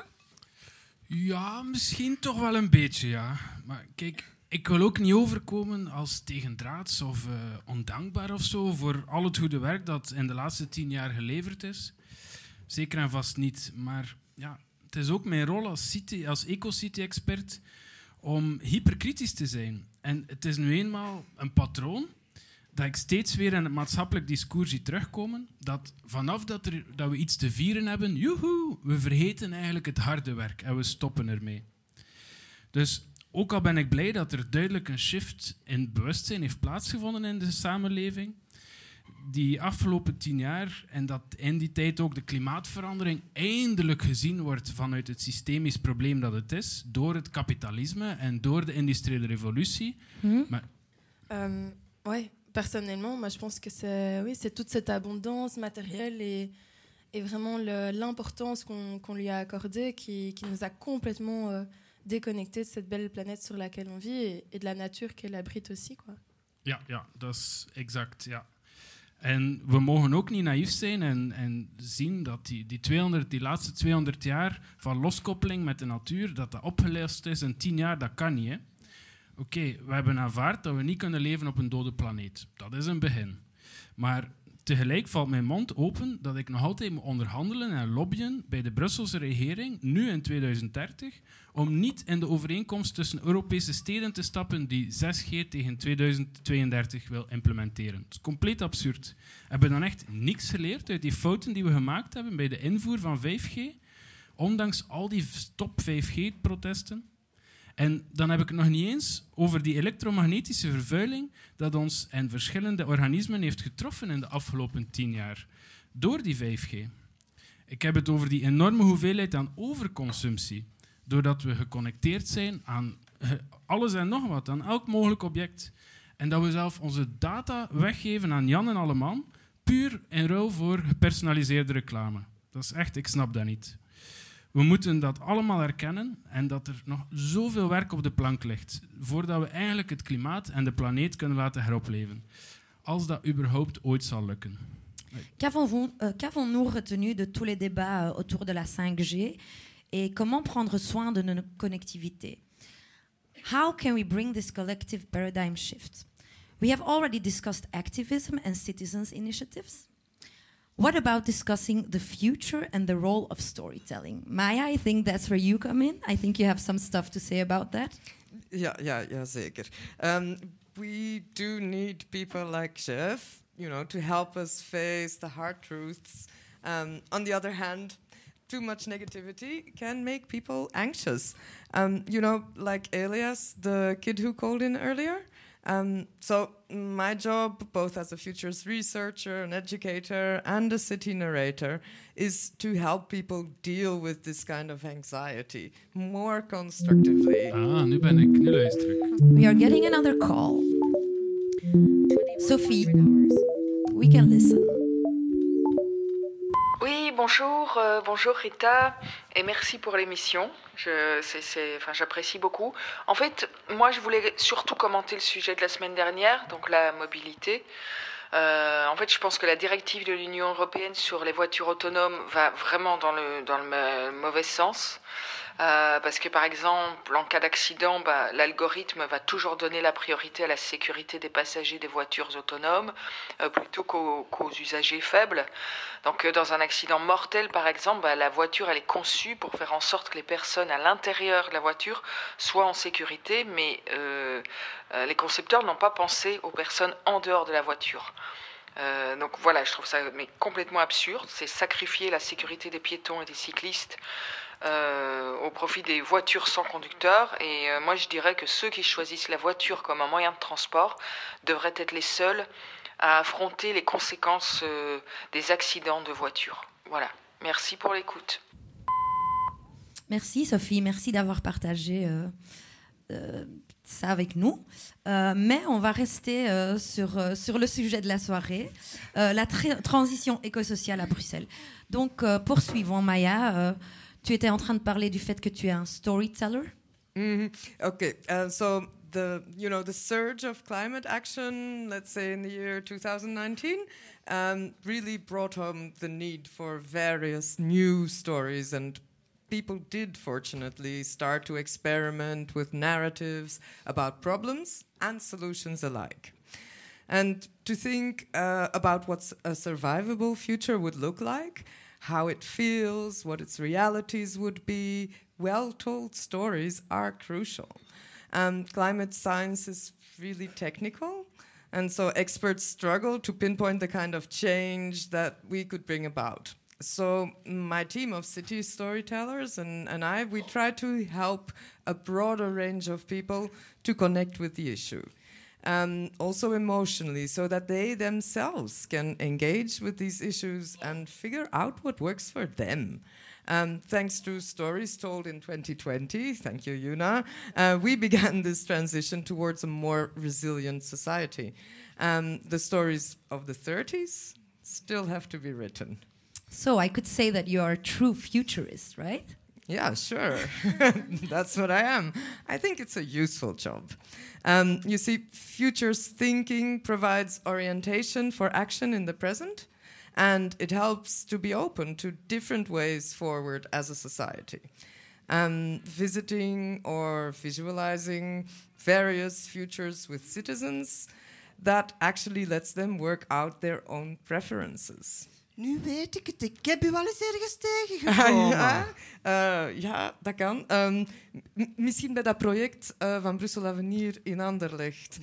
Speaker 14: Ja, misschien toch wel een beetje, ja. Maar kijk... Ik wil ook niet overkomen als tegendraads of uh, ondankbaar of zo voor al het goede werk dat in de laatste tien jaar geleverd is. Zeker en vast niet. Maar ja, het is ook mijn rol als, city, als ecocity-expert om hyperkritisch te zijn. En het is nu eenmaal een patroon dat ik steeds weer in het maatschappelijk discours zie terugkomen, dat vanaf dat, er, dat we iets te vieren hebben, joehoe, we vergeten eigenlijk het harde werk en we stoppen ermee. Dus... Ook al ben ik blij dat er duidelijk een shift in het bewustzijn heeft plaatsgevonden in de samenleving, die afgelopen tien jaar en dat in die tijd ook de klimaatverandering eindelijk gezien wordt vanuit het systemisch probleem dat het is, door het kapitalisme en door de industriële revolutie.
Speaker 11: Mmh.
Speaker 14: Maar...
Speaker 11: Um, ouais, personnellement, moi je pense que c'est, oui, c'est toute cette abondance matérielle et, et vraiment le, l'importance qu'on, qu'on lui a accordée qui, qui nous a complètement... Euh, déconnecté de cette belle planète sur laquelle on vit et, et de la nature qu'elle abrite aussi, quoi.
Speaker 14: Ja, ja, dat is exact, ja. En we mogen ook niet naïef zijn en, en zien dat die, die, tweehonderd, die laatste tweehonderd jaar van loskoppeling met de natuur, dat dat opgelost is in tien jaar, dat kan niet. Oké, okay, we hebben aanvaard dat we niet kunnen leven op een dode planeet. Dat is een begin. Maar tegelijk valt mijn mond open dat ik nog altijd moet onderhandelen en lobbyen bij de Brusselse regering, nu in tweeduizend dertig, om niet in de overeenkomst tussen Europese steden te stappen die zes G tegen tweeduizend tweeëndertig wil implementeren. Het is compleet absurd. Hebben we dan echt niks geleerd uit die fouten die we gemaakt hebben bij de invoer van vijf G? Ondanks al die stop vijf G-protesten. En dan heb ik het nog niet eens over die elektromagnetische vervuiling dat ons en verschillende organismen heeft getroffen in de afgelopen tien jaar. Door die vijf G. Ik heb het over die enorme hoeveelheid aan overconsumptie. Doordat we geconnecteerd zijn aan alles en nog wat, aan elk mogelijk object. En dat we zelf onze data weggeven aan Jan en Alleman, puur in ruil voor gepersonaliseerde reclame. Dat is echt, ik snap dat niet. We moeten dat allemaal erkennen en dat er nog zoveel werk op de plank ligt voordat we eigenlijk het klimaat en de planeet kunnen laten heropleven. Als dat überhaupt ooit zal lukken.
Speaker 9: Qu'avons-nous, euh, qu'avons-nous retenu de tous les débats euh, autour de la cinq G et comment prendre soin de nos connectivités? How can we bring this collective paradigm shift? We have already discussed activism and citizens' initiatives. What about discussing the future and the role of storytelling? Maya, I think that's where you come in. I think you have some stuff to say about that.
Speaker 12: Ja, ja, ja zeker. Um, we do need people like Jeff, you know, to help us face the hard truths. Um, on the other hand, too much negativity can make people anxious. Um, you know, like Elias, the kid who called in earlier, Um, so my job, both as a futures researcher, an educator, and a city narrator, is to help people deal with this kind of anxiety more constructively.
Speaker 14: Ah, nu ben ik, nu luister ik.
Speaker 9: We are getting another call. Sophie, we can listen.
Speaker 19: Oui, bonjour, euh, bonjour Rita, et merci pour l'émission. Je, c'est, c'est, enfin, j'apprécie beaucoup. En fait, moi, je voulais surtout commenter le sujet de la semaine dernière, donc la mobilité. Euh, en fait, je pense que la directive de l'Union européenne sur les voitures autonomes va vraiment dans le, dans le mauvais sens. Euh, parce que par exemple, en cas d'accident, bah, l'algorithme va toujours donner la priorité à la sécurité des passagers des voitures autonomes euh, plutôt qu'aux, qu'aux usagers faibles. Donc euh, dans un accident mortel par exemple, bah, la voiture elle est conçue pour faire en sorte que les personnes à l'intérieur de la voiture soient en sécurité, mais euh, euh, les concepteurs n'ont pas pensé aux personnes en dehors de la voiture. Euh, donc voilà, je trouve ça mais complètement absurde. C'est sacrifier la sécurité des piétons et des cyclistes Euh, au profit des voitures sans conducteur. Et euh, moi je dirais que ceux qui choisissent la voiture comme un moyen de transport devraient être les seuls à affronter les conséquences euh, des accidents de voiture. Voilà, merci pour l'écoute.
Speaker 9: Merci Sophie, merci d'avoir partagé euh, euh, ça avec nous. Euh, mais on va rester euh, sur, euh, sur le sujet de la soirée, euh, la tra- transition écosociale à Bruxelles. Donc euh, poursuivons Maya. Euh, Tu étais en train de parler du fait que tu es un storyteller.
Speaker 12: Mm-hmm. Okay, uh, so the you know the surge of climate action, let's say in the year two thousand nineteen, um, really brought home the need for various new stories, and people did fortunately start to experiment with narratives about problems and solutions alike. And to think uh, about what a survivable future would look like, how it feels, what its realities would be, well-told stories are crucial. Um, climate science is really technical, and so experts struggle to pinpoint the kind of change that we could bring about. So my team of city storytellers and, and I, we try to help a broader range of people to connect with the issue. Um, also emotionally, so that they themselves can engage with these issues and figure out what works for them. Um, thanks to stories told in twenty twenty, thank you, Yuna, uh, we began this transition towards a more resilient society. Um, the stories of the thirties still have to be written.
Speaker 9: So I could say that you are a true futurist, right?
Speaker 12: Yeah, sure. That's what I am. I think it's a useful job. Um, you see, futures thinking provides orientation for action in the present, and it helps to be open to different ways forward as a society. Um, visiting or visualizing various futures with citizens, that actually lets them work out their own preferences.
Speaker 13: Nu weet ik het. Ik heb u wel eens ergens tegengekomen.
Speaker 12: Ah, ja, uh, ja, dat kan. Um, m- misschien bij dat project uh, van Brussel Avenir in Anderlecht.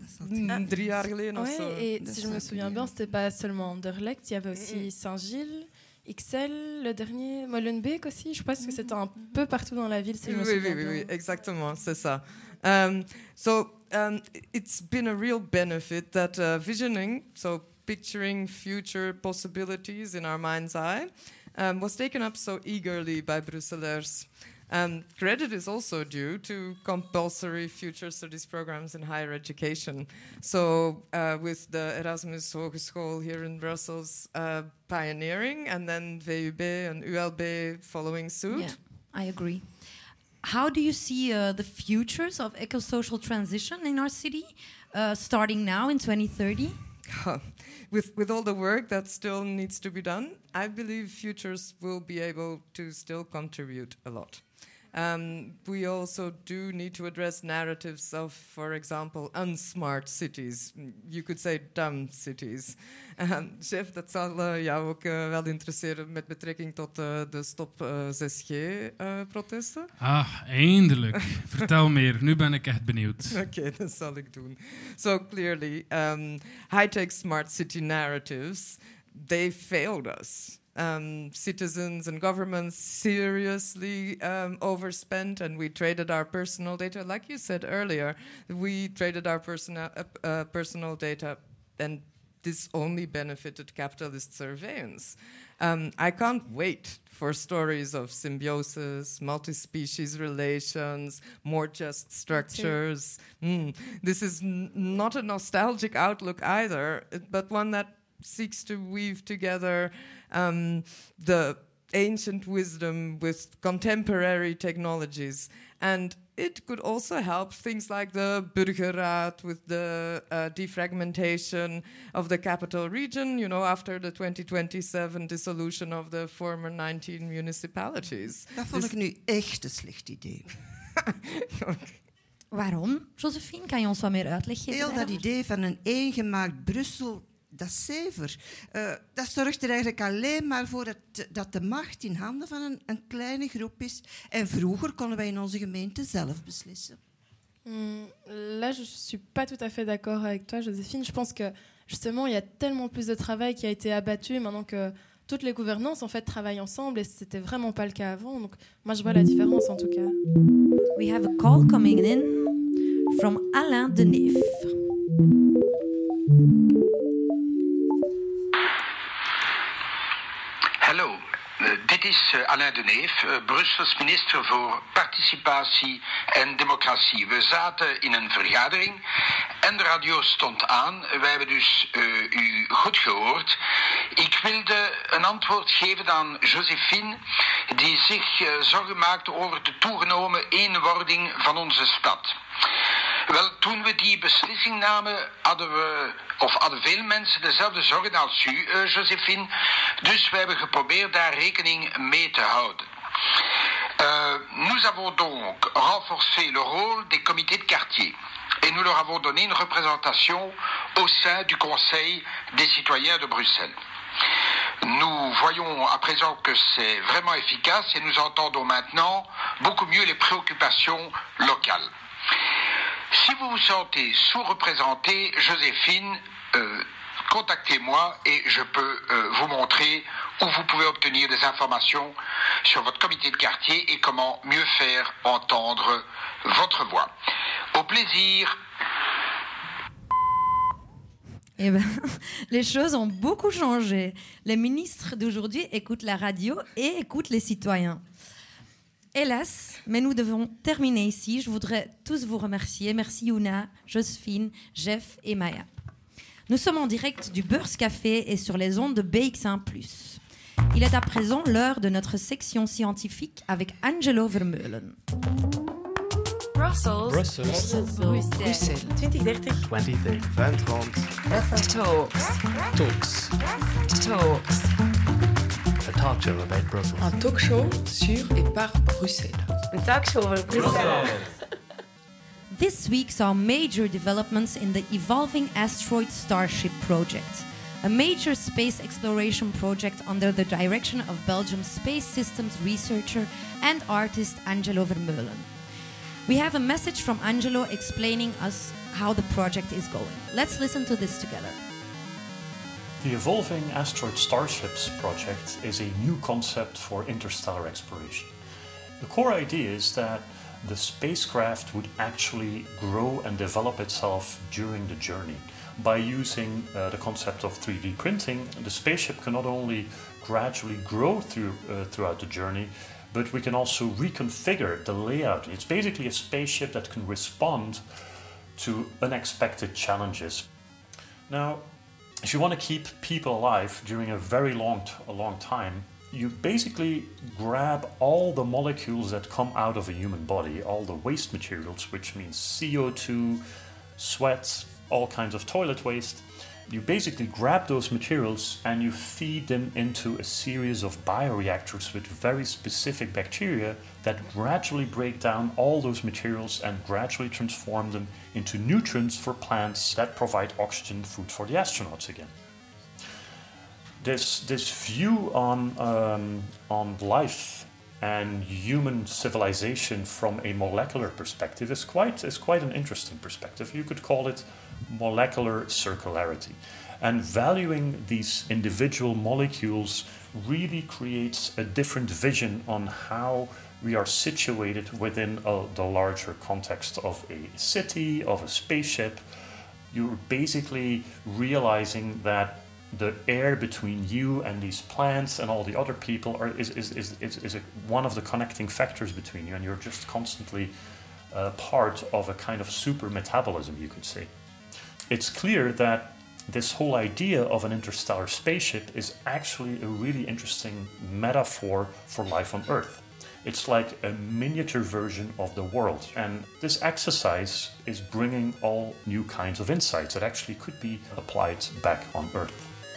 Speaker 12: Mm, drie jaar geleden of
Speaker 11: ouais,
Speaker 12: zo.
Speaker 11: Et si je me souviens bien, c'était pas seulement Anderlecht, il y avait aussi Saint-Gilles, X L, le dernier, Molenbeek aussi. Je pense que c'était un peu partout dans la ville, si je me
Speaker 12: oui,
Speaker 11: souviens
Speaker 12: oui,
Speaker 11: bien.
Speaker 12: oui, oui, exactement, c'est ça. Um, so um, it's been a real benefit that uh, visioning, so picturing future possibilities in our mind's eye, um, was taken up so eagerly by Brusselaars. Um, credit is also due to compulsory future studies programs in higher education. So uh, with the Erasmus Hogeschool here in Brussels uh, pioneering, and then V U B and U L B following suit.
Speaker 9: Yeah, I agree. How do you see uh, the futures of eco-social transition in our city, uh, starting now in twenty thirty?
Speaker 12: with with all the work that still needs to be done, I believe futures will be able to still contribute a lot. Um, we also do need to address narratives of, for example, unsmart cities. You could say dumb cities. Um, chef, dat zal uh, jou ook uh, wel interesseren met betrekking tot uh, de stop uh, zes G-protesten. Uh,
Speaker 14: ah, eindelijk. Vertel meer. Nu ben ik echt benieuwd.
Speaker 12: Oké, okay, dat zal ik doen. So clearly, um, high-tech smart city narratives, they failed us. um, citizens and governments seriously um, overspent, and we traded our personal data. Like you said earlier, we traded our personal uh, uh, personal data, and this only benefited capitalist surveillance. Um, I can't wait for stories of symbiosis, multi-species relations, more just structures. Mm. This is n- not a nostalgic outlook either, but one that seeks to weave together um, the ancient wisdom with contemporary technologies. And it could also help things like the Burgerraad with the uh, defragmentation of the capital region, you know, after the twenty twenty-seven dissolution of the former nineteen municipalities.
Speaker 13: Dat vond
Speaker 12: Dus-
Speaker 13: ik nu echt een slecht idee.
Speaker 9: Waarom? Josephine, kan je ons wat meer uitleg geven?
Speaker 13: Heel dat
Speaker 9: daarover?
Speaker 13: idee van een eengemaakt Brussel, dat is zever. Uh, dat zorgt er eigenlijk alleen maar voor dat, dat de macht in handen van een, een kleine groep is. En vroeger konden wij in onze gemeente zelf beslissen.
Speaker 11: Hmm, là, je suis pas tout à fait d'accord avec toi, Joséphine. Je pense que justement, il y a tellement plus de travail qui a été abattu maintenant que toutes les gouvernances en fait travaillent ensemble, et c'était vraiment pas le cas avant. Donc, moi, je vois la différence en tout cas.
Speaker 9: We have a call coming in from Alain Deneef.
Speaker 20: Hallo, uh, dit is uh, Alain Deneef, uh, Brussels minister voor participatie en democratie. We zaten in een vergadering en de radio stond aan. Wij hebben dus uh, u goed gehoord. Ik wilde een antwoord geven aan Josephine, die zich uh, zorgen maakte over de toegenomen eenwording van onze stad. Wel, toen we die beslissing namen, hadden we, of hadden veel mensen dezelfde zorgen als u, uh, Josephine. Dus we hebben geprobeerd daar rekening mee te houden. Uh, nous avons donc renforcé le rôle des comités de quartier. Et nous leur avons donné une représentation au sein du Conseil des citoyens de Bruxelles. Nous voyons à présent que c'est vraiment efficace et nous entendons maintenant beaucoup mieux les préoccupations locales. Si vous vous sentez sous-représenté, Joséphine, euh, contactez-moi et je peux euh, vous montrer où vous pouvez obtenir des informations sur votre comité de quartier et comment mieux faire entendre votre voix. Au plaisir.
Speaker 9: Eh ben, les choses ont beaucoup changé. Les ministres d'aujourd'hui écoutent la radio et écoutent les citoyens. Hélas, mais nous devons terminer ici. Je voudrais tous vous remercier. Merci Yuna, Josephine, Jeff et Maya. Nous sommes en direct du Beurs Café et sur les ondes de B X un plus. Il est à présent l'heure de notre section scientifique avec Angelo Vermeulen.
Speaker 2: Brussels.
Speaker 6: Brussels.
Speaker 2: Bruxelles.
Speaker 3: Bruxelles. twintig dertig.
Speaker 6: twintig dertig. vingt trente.
Speaker 2: Talks.
Speaker 6: Talks.
Speaker 2: Talks.
Speaker 6: A talk show about Brussels.
Speaker 8: Un talk show sur et par Bruxelles.
Speaker 3: Een talkshow over Bruxelles.
Speaker 9: This week saw major developments in the evolving asteroid Starship project, a major space exploration project under the direction of Belgium's space systems researcher and artist Angelo Vermeulen. We have a message from Angelo explaining us how the project is going. Let's listen to this together.
Speaker 21: The Evolving Asteroid Starships project is a new concept for interstellar exploration. The core idea is that the spacecraft would actually grow and develop itself during the journey. By using uh, the concept of three D printing, the spaceship can not only gradually grow through, uh, throughout the journey, but we can also reconfigure the layout. It's basically a spaceship that can respond to unexpected challenges. Now, if you want to keep people alive during a very long, t- a long time, you basically grab all the molecules that come out of a human body, all the waste materials, which means C O two, sweat, all kinds of toilet waste. You basically grab those materials and you feed them into a series of bioreactors with very specific bacteria that gradually break down all those materials and gradually transform them into nutrients for plants that provide oxygen food for the astronauts again. This, this view on, um, on life and human civilization from a molecular perspective is quite, is quite an interesting perspective. You could call it molecular circularity. And valuing these individual molecules really creates a different vision on how we are situated within uh, the larger context of a city, of a spaceship. You're basically realizing that the air between you and these plants and all the other people are, is, is, is, is, is a, one of the connecting factors between you, and you're just constantly uh, part of a kind of super metabolism, you could say. It's clear that this whole idea of an interstellar spaceship is actually a really interesting metaphor for life on Earth. It's like a miniature version of the world, and this exercise is bringing all new kinds of insights that actually could be applied back on Earth.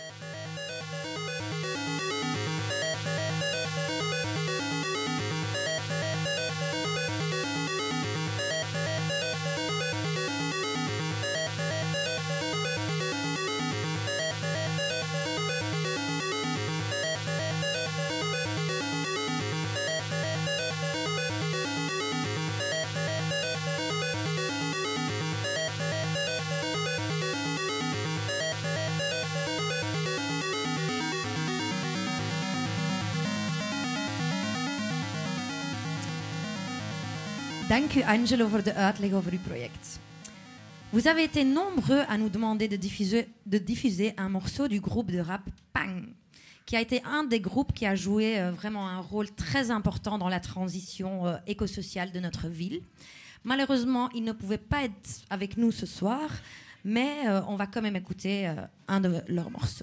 Speaker 9: Dank u Angelo voor de uitleg over uw project. Vous avez été nombreux à nous demander de diffuser, de diffuser un morceau du groupe de rap Pang, qui a été un des groupes qui a joué euh, vraiment un rôle très important dans la transition euh, écosociale de notre ville. Malheureusement, ils ne pouvaient pas être avec nous ce soir, mais euh, on va quand même écouter euh, un de leurs morceaux.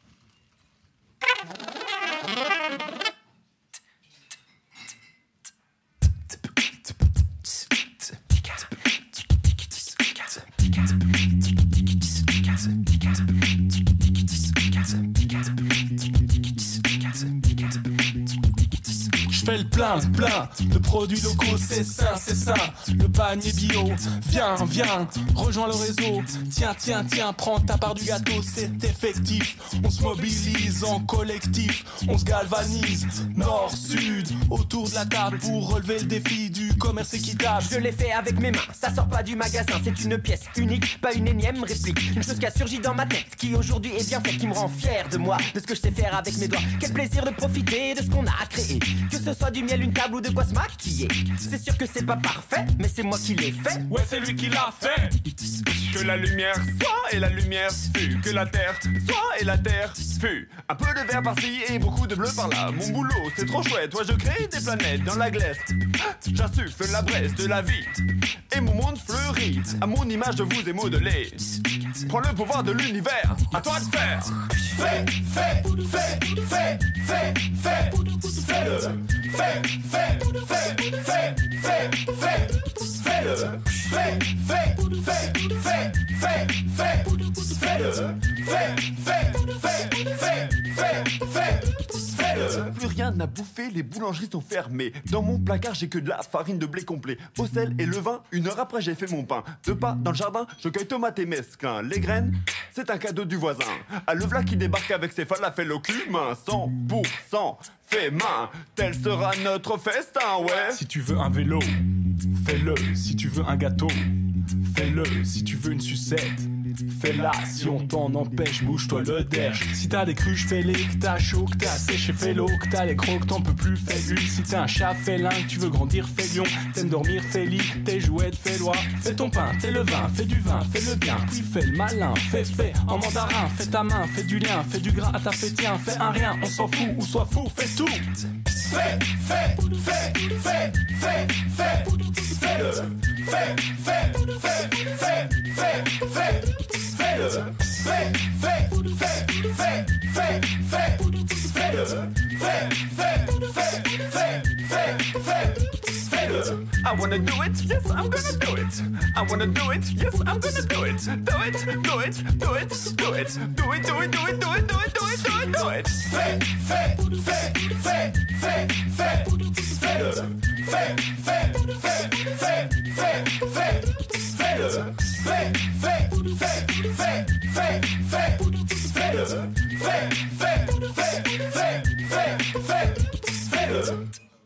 Speaker 1: Je fais le plein, plein de produits locaux, c'est ça, c'est ça, le panier bio. Viens, viens, rejoins le réseau. Tiens, tiens, tiens, prends ta part du gâteau, c'est effectif. On se mobilise en collectif, on se galvanise, nord, sud, autour de la table pour relever le défi du commerce équitable.
Speaker 22: Je l'ai fait avec mes mains, ça sort pas du magasin, c'est une pièce unique, pas une énième réplique. Une chose qui a surgi dans ma tête, qui aujourd'hui est bien faite, qui me rend fier de moi, de ce que je sais faire avec mes doigts. Quel plaisir de profiter de ce qu'on a créé. Que ce soit du miel, une table ou de quoi se maquiller. C'est sûr que c'est pas parfait, mais c'est moi qui l'ai fait.
Speaker 1: Ouais, c'est lui qui l'a fait. Que la lumière soit et la lumière fut. Que la terre soit et la terre fut. Un peu de vert par-ci et beaucoup de bleu par-là. Mon boulot, c'est trop chouette. Moi, je crée des planètes dans la glace. J'insuffle la braise de la vie. Et mon monde fleurit. À mon image, je vous ai modelé. Prends le pouvoir de l'univers. À toi de faire. Fais, fais, fais, fais, fais, fais. Fais-le. Fais, fais, fais, fais, fais, fais. Fais-le. Fais, fais, fais, fais, fais, fais. Fais-le. Fais, fais, fais, fais, fais, fais. Fais-le. Plus rien à bouffer, les boulangeries sont fermées. Dans mon placard, j'ai que de la farine de blé complet. Au sel et le vin, une heure après, j'ai fait mon pain. Deux pas dans le jardin, je cueille tomates et mesclun. Les graines, c'est un cadeau du voisin. À le v'là qui débarque avec ses falafels au cumin. cent pour cent fait main, tel sera notre festin, ouais.
Speaker 23: Si tu veux un vélo, fais-le. Si tu veux un gâteau, fais-le. Si tu veux une sucette, fais-la. Si on t'en empêche, bouge-toi le derche. Si t'as des cruches, fais-les. Que t'as chaud, que t'as séché, fais-l'eau. Que t'as les crocs, t'en peux plus, fais une. Si t'es un chat, fais-l'un. Que tu veux grandir, fais lion. T'aimes dormir, fais lit. T'es jouette, fais loi. Fais ton pain, t'es le vin, fais du vin, fais le bien. Puis fais le malin, fais fait en mandarin. Fais ta main, fais du lien, fais du gras à ta fait tiens. Fais un rien, on s'en fout, ou sois fou, fais tout.
Speaker 1: Fais, fais, fais, fais, fais, fais. Fais-le. Fais, fais, fais, fais, fais, fais. Fais-le. Fais, fais, fais, fais, fais, fais. Fais-le. Fais, fais, fais, fais, fais, fais. Fais-le. I wanna do it, yes, I'm gonna do it. I wanna do it, yes, I'm gonna do it. Do it, do it, do it, do it. Do it, do it, do it, do it, do it, do it, do it, do it. Fais, fais, fais, fais, fais, fais. Fais-le. Fais, fais, fais, fais, fais, fais. Fais-le. Fais, fais, fais, fais, fais, fais. Fais-le. Fais, fais, fais, fais, fais, fais. Fais-le.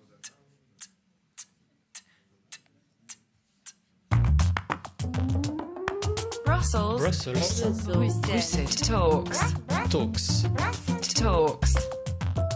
Speaker 2: Brussels.
Speaker 6: Brussels.
Speaker 2: Brussels. Talks.
Speaker 6: Talks.
Speaker 2: Talks.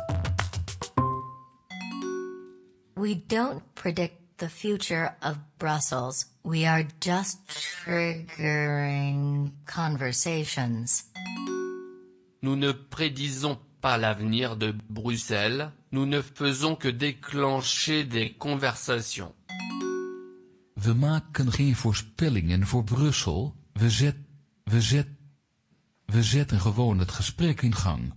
Speaker 4: We don't predict the future of Brussels. We are just triggering conversations.
Speaker 5: Nous ne prédisons pas l'avenir de Bruxelles, nous ne faisons que déclencher des conversations.
Speaker 10: We maken geen voorspellingen voor Brussel, we, zet, we, zet, we zetten gewoon het gesprek in gang.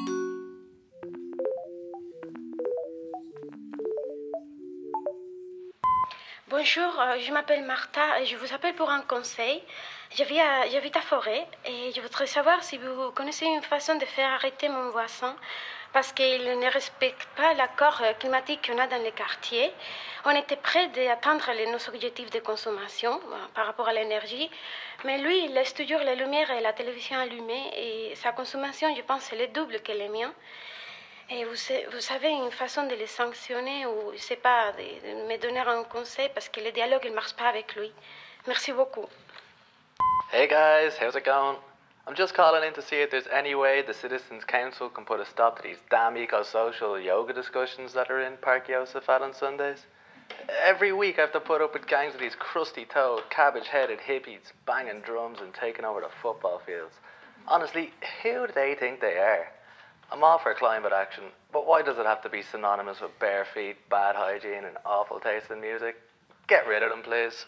Speaker 7: Bonjour, je m'appelle Martha et je vous appelle pour un conseil. J'habite à Forêt et je voudrais savoir si vous connaissez une façon de faire arrêter mon voisin parce qu'il ne respecte pas l'accord climatique qu'on a dans les quartiers. On était près d'atteindre nos objectifs de consommation par rapport à l'énergie, mais lui, il laisse toujours les lumières et la télévision allumées et sa consommation, je pense, c'est le double que les miens. Et vous, vous avez une façon de les sanctionner ou, je sais pas, de, de me donner un conseil parce que le dialogue ne marche pas avec lui. Merci beaucoup.
Speaker 6: Hey guys, how's it going? I'm just calling in to see if there's any way the Citizens Council can put a stop to these damn eco-social yoga discussions that are in Park Josephat on Sundays. Every week I have to put up with gangs of these crusty-toed, cabbage-headed hippies banging drums and taking over the football fields. Honestly, who do they think they are? I'm all for climate action, but why does it have to be synonymous with bare feet, bad hygiene and awful taste in music? Get rid of them, please.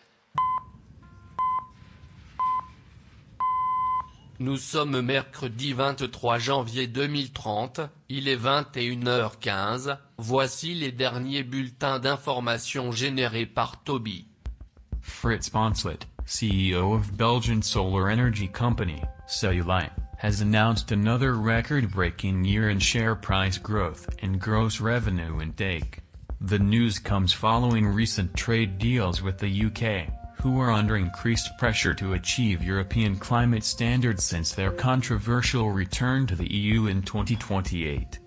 Speaker 5: Nous sommes mercredi vingt-trois janvier deux mille trente, il est vingt et une heures quinze, voici les derniers bulletins d'information générés par Toby.
Speaker 24: Frits Bonslet, C E O of Belgian solar energy company, Cellulite, has announced another record-breaking year in share price growth and gross revenue intake. The news comes following recent trade deals with the U K, who are under increased pressure to achieve European climate standards since their controversial return to the E U in twenty twenty-eight.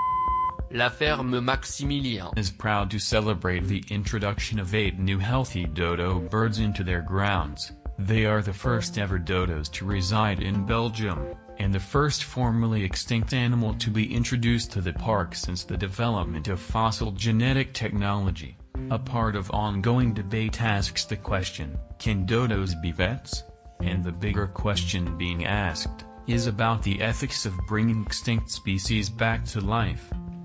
Speaker 5: La ferme Maximilien
Speaker 24: is proud to celebrate the introduction of eight new healthy dodo birds into their grounds. They are the first ever dodos to reside in Belgium, and the first formerly extinct animal to be introduced to the park since the development of fossil genetic technology. A part of ongoing debate asks the question, can dodos be vets? And the bigger question being asked is about the ethics of bringing extinct species back to life.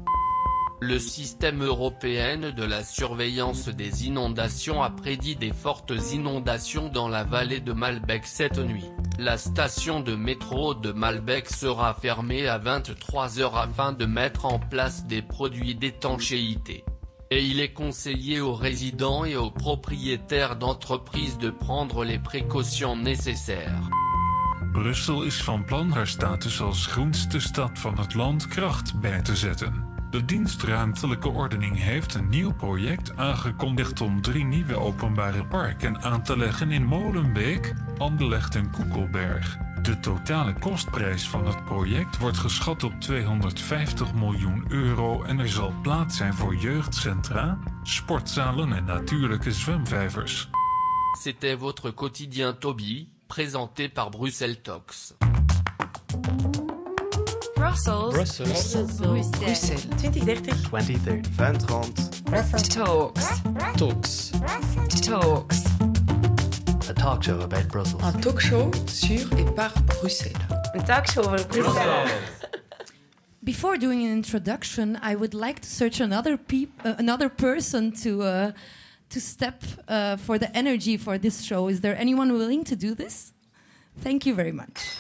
Speaker 5: Le système européen de la surveillance des inondations a prédit des fortes inondations dans la vallée de Malbec cette nuit. La station de métro de Malbec sera fermée à vingt-trois heures afin de mettre en place des produits d'étanchéité. Et il est conseillé aux résidents et aux propriétaires d'entreprises de prendre les précautions nécessaires.
Speaker 25: Brussel is van plan haar status als groenste stad van het land kracht bij te zetten. De dienst Ruimtelijke Ordening heeft een nieuw project aangekondigd om drie nieuwe openbare parken aan te leggen in Molenbeek, Anderlecht en Koekelberg. De totale kostprijs van het project wordt geschat op tweehonderdvijftig miljoen euro en er zal plaats zijn voor jeugdcentra, sportzalen en natuurlijke zwemvijvers.
Speaker 5: C'était votre quotidien Toby, présenté par Bruxelles Talks.
Speaker 2: Brussels.
Speaker 6: Brussels.
Speaker 2: Bruxelles.
Speaker 3: Bruxelles. twintig dertig.
Speaker 6: twintig dertig.
Speaker 2: vingt trente. Brussels Talks.
Speaker 6: Talks.
Speaker 2: Talks.
Speaker 6: A talk show about Brussels.
Speaker 8: Un talk show sur et par Bruxelles.
Speaker 3: Een talkshow over Bruxelles.
Speaker 9: Before doing an introduction, I would like to search another peop- uh, another person to uh, to step uh, for the energy for this show. Is there anyone willing to do this? Thank you very much.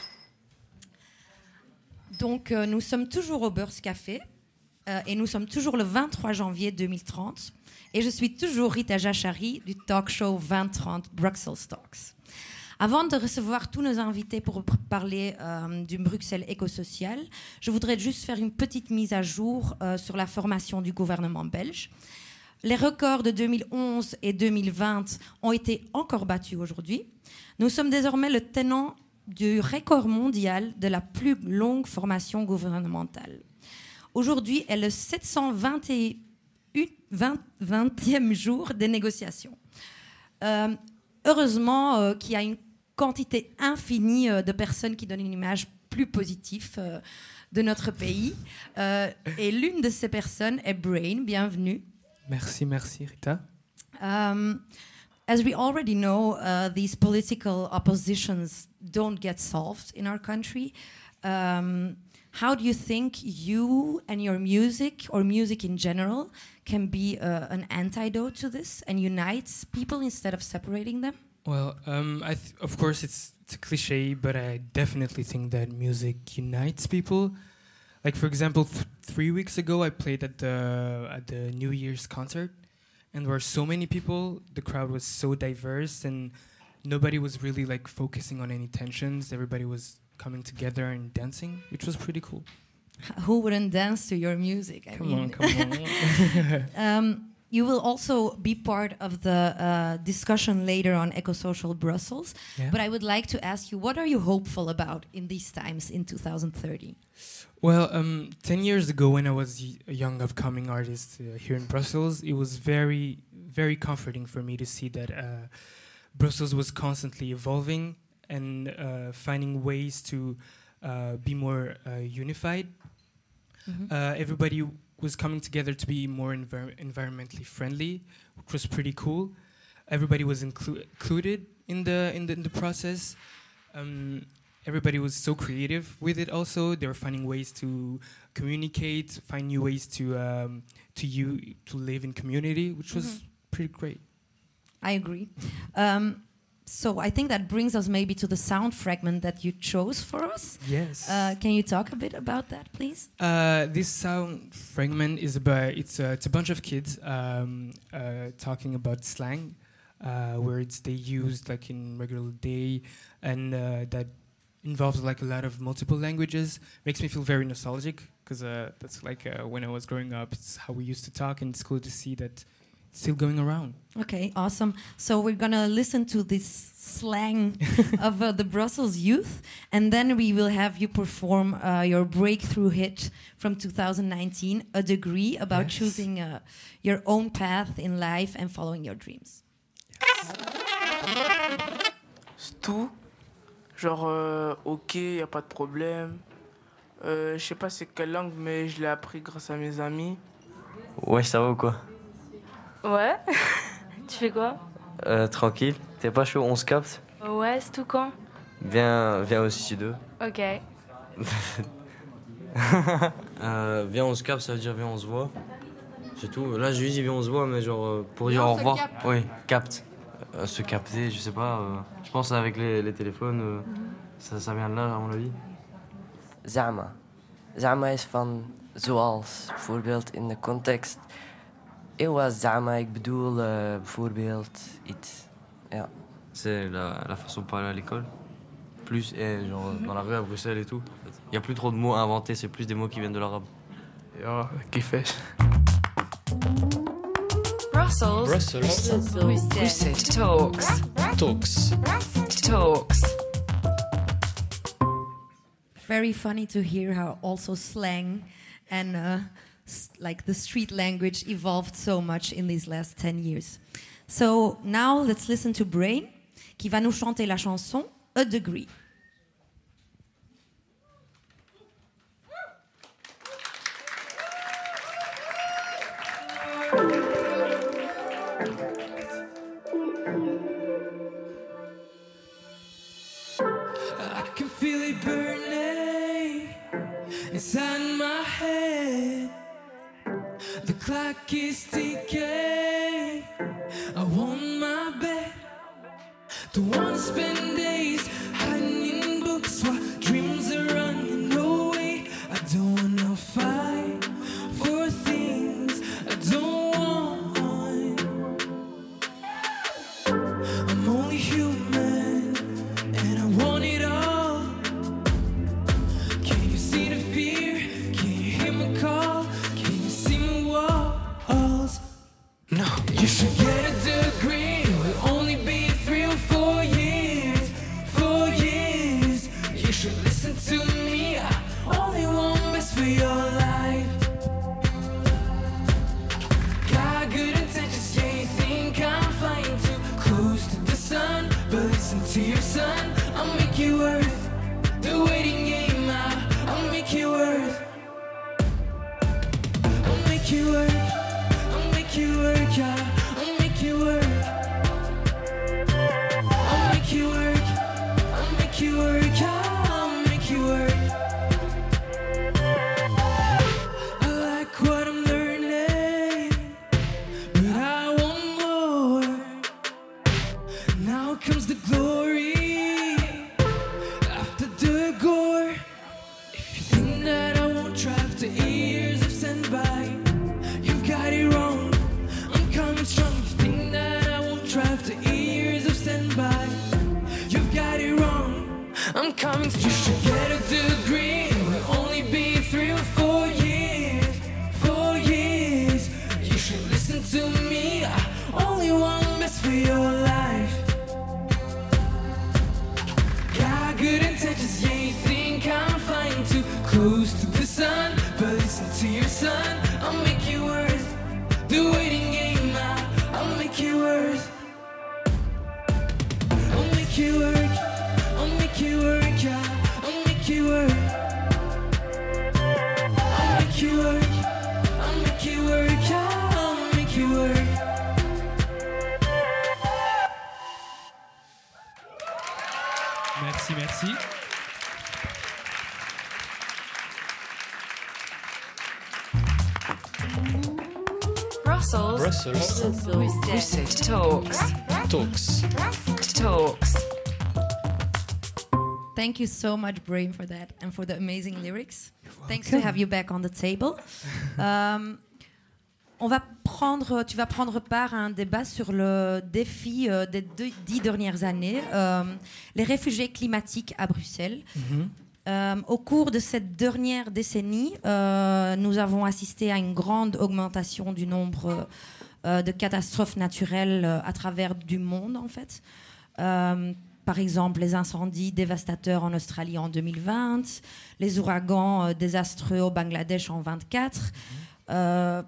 Speaker 9: Donc, euh, nous sommes toujours au Beurs Café euh, et nous sommes toujours le vingt-trois janvier deux mille trente. Et je suis toujours Rita Jachari du talk show vingt trente Bruxelles Talks. Avant de recevoir tous nos invités pour parler euh, du Bruxelles écosocial, je voudrais juste faire une petite mise à jour euh, sur la formation du gouvernement belge. Les records de deux mille onze et deux mille vingt ont été encore battus aujourd'hui. Nous sommes désormais le tenant du record mondial de la plus longue formation gouvernementale. Aujourd'hui est le sept cent vingtième jour des négociations. Euh, heureusement euh, qu'il y a une quantité infinie euh, de personnes qui donnent une image plus positive euh, de notre pays. Euh, et l'une de ces personnes est Brain. Bienvenue.
Speaker 15: Merci, merci, Rita.
Speaker 9: Um, as we already know, uh, these political oppositions don't get solved in our country. Um, how do you think you and your music, or music in general, can be uh, an antidote to this and unites people instead of separating them?
Speaker 15: Well, um, I th- of course it's, it's a cliche, but I definitely think that music unites people. Like for example, th- three weeks ago I played at the at the New Year's concert, and there were so many people. The crowd was so diverse, and nobody was really like focusing on any tensions. Everybody was coming together and dancing, which was pretty cool.
Speaker 9: Who wouldn't dance to your music? I
Speaker 15: Come
Speaker 9: mean.
Speaker 15: on, come on.
Speaker 9: um, you will also be part of the uh, discussion later on Ecosocial Brussels.
Speaker 15: Yeah.
Speaker 9: But I would like to ask you, what are you hopeful about in these times in two thousand thirty?
Speaker 15: Well, um, ten years ago when I was y- a young upcoming artist uh, here in Brussels, it was very, very comforting for me to see that uh, Brussels was constantly evolving and uh, finding ways to uh, be more uh, unified.
Speaker 9: Mhm.
Speaker 15: Uh, everybody w- was coming together to be more envir- environmentally friendly, which was pretty cool. Everybody was inclu- included in the in the, in the process. Um, everybody was so creative with it. Also, they were finding ways to communicate, find new ways to um, to you to live in community, which was
Speaker 9: Mhm.
Speaker 15: pretty great.
Speaker 9: I agree. Um, so I think that brings us maybe to the sound fragment that you chose for us.
Speaker 15: Yes.
Speaker 9: Uh, can you talk a bit about that, please?
Speaker 15: Uh, this sound fragment is about it's a, it's a bunch of kids um, uh, talking about slang, uh, words they use like in regular day, and uh, that involves like a lot of multiple languages. Makes me feel very nostalgic because uh, that's like uh, when I was growing up. It's how we used to talk, and it's cool to see that it's still going around.
Speaker 9: Okay, awesome. So we're gonna listen to this slang of uh, the Brussels youth, and then we will have you perform uh, your breakthrough hit from two thousand nineteen, A Degree, about
Speaker 15: Yes.
Speaker 9: choosing uh, your own path in life and following your dreams.
Speaker 16: C'est tout. Genre, euh, ok, y a pas de problème. Euh, je sais pas c'est quelle langue, mais je l'ai appris grâce à mes amis.
Speaker 17: Ouais, ça va ou quoi?
Speaker 18: Ouais. Tu fais quoi?
Speaker 17: Euh, tranquille. T'es pas chaud, on se capte?
Speaker 18: Ouais, c'est tout quand?
Speaker 17: Viens, viens au studio.
Speaker 18: Ok.
Speaker 17: euh, viens, on se capte, ça veut dire viens, on se voit. C'est tout. Là, je lui dis viens, on se voit, mais genre euh, pour dire
Speaker 18: Non,
Speaker 17: au
Speaker 18: se
Speaker 17: revoir.
Speaker 18: capte.
Speaker 17: Oui, capte. Euh, se capter, je sais pas. euh, je pense avec les, les téléphones, euh, ça, ça vient de là, à mon avis.
Speaker 19: Zama. Zama is van zoals, bijvoorbeeld in de context. Ewa zama, ik bedoel uh, bijvoorbeeld iets. Ja.
Speaker 17: C'est la, la façon de parler à l'école. Plus, et genre dans la rue à Bruxelles et tout. Il y a plus trop de mots à inventer, c'est plus des mots qui viennent de l'arabe.
Speaker 16: Ja, kiffers.
Speaker 2: Brussels. Brussels. Brussels. Talks.
Speaker 26: Talks.
Speaker 2: Talks.
Speaker 9: Very funny to hear how also slang and uh, s- like the street language evolved so much in these last ten years. So now let's listen to Brain, qui va nous chanter la chanson A Degree.
Speaker 27: I can feel it burning inside my head. The clock is ticking. I want my bed. Don't wanna spend days hiding in books while dreams are running away. I don't wanna fight for things I don't want. I'm only human and I want it all. Can you see the fear? Can you hear my call? Can you see my walls? No. You should get a degree. We'll only be three or four years. Four years. You should listen to me. I only want best for your life. Got good intentions, yeah, you think I'm flying too close to the sun. But listen to your son, I'll make you worth the waiting game. I- I'll make you worth. I'll make you worth. I'll make you worth. coming. You should get a degree. It will only be three or four years. Four years. You should listen to me. I only want best for your life. Got good intentions, yeah, you think I'm flying too close to the sun. But listen to your son, I'll make you worth the waiting game now. I'll make you worth. I'll make you work, I'll make you work, yeah. I'll make you work. I'll make you work, I'll make you work, yeah. I'll make you work.
Speaker 15: Merci, merci.
Speaker 2: Brussels.
Speaker 11: Brussels.
Speaker 2: Brussels Talks.
Speaker 11: Talks.
Speaker 2: Talks.
Speaker 9: Thank you so much, Brain, for that and for the amazing lyrics. Thanks to have you back on the table. Um, on va prendre, tu vas prendre part à un débat sur le défi euh, des deux, dix dernières années, euh, les réfugiés climatiques à Bruxelles.
Speaker 15: Mhm.
Speaker 9: Euh, au cours de cette dernière décennie, euh, nous avons assisté à une grande augmentation du nombre euh, de catastrophes naturelles euh, à travers du monde, en fait. Euh, par exemple, les incendies dévastateurs en Australie en deux mille vingt, les ouragans euh, désastreux au Bangladesh en vingt-quatre, euh,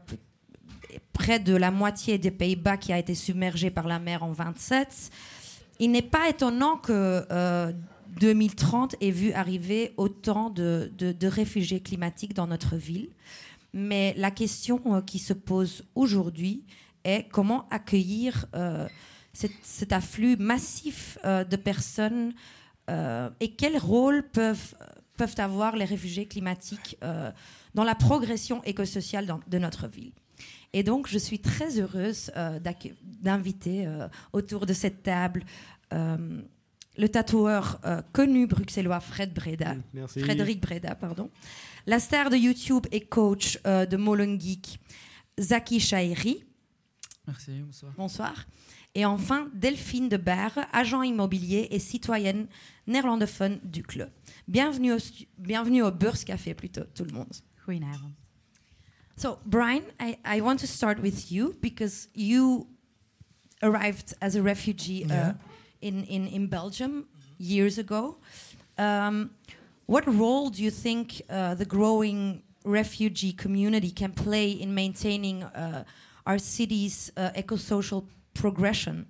Speaker 9: près de la moitié des Pays-Bas qui a été submergée par la mer en vingt-sept. Il n'est pas étonnant que euh, deux mille trente ait vu arriver autant de, de, de réfugiés climatiques dans notre ville. Mais la question euh, qui se pose aujourd'hui est comment accueillir euh, cet, cet afflux massif euh, de personnes euh, et quel rôle peuvent, peuvent avoir les réfugiés climatiques euh, dans la progression écosociale dans, de notre ville. Et donc, je suis très heureuse euh, d'inviter euh, autour de cette table euh, le tatoueur euh, connu bruxellois Fred Breda,
Speaker 12: Merci.
Speaker 9: Frédéric Breda, pardon, la star de YouTube et coach euh, de Molen Geek, Zaki Chahiri.
Speaker 13: Merci, bonsoir.
Speaker 9: Bonsoir. Et enfin, Delphine de Barre, agent immobilier et citoyenne néerlandophone du club. Bienvenue au, stu- bienvenue au Beurscafé, plutôt, tout le monde.
Speaker 13: Goedenavond.
Speaker 9: So, Brian, I, I want to start with you because you arrived as a refugee uh,
Speaker 13: Yeah.
Speaker 9: in, in, in Belgium years ago. Um, what role do you think uh, the growing refugee community can play in maintaining uh, our city's uh, eco-social progression?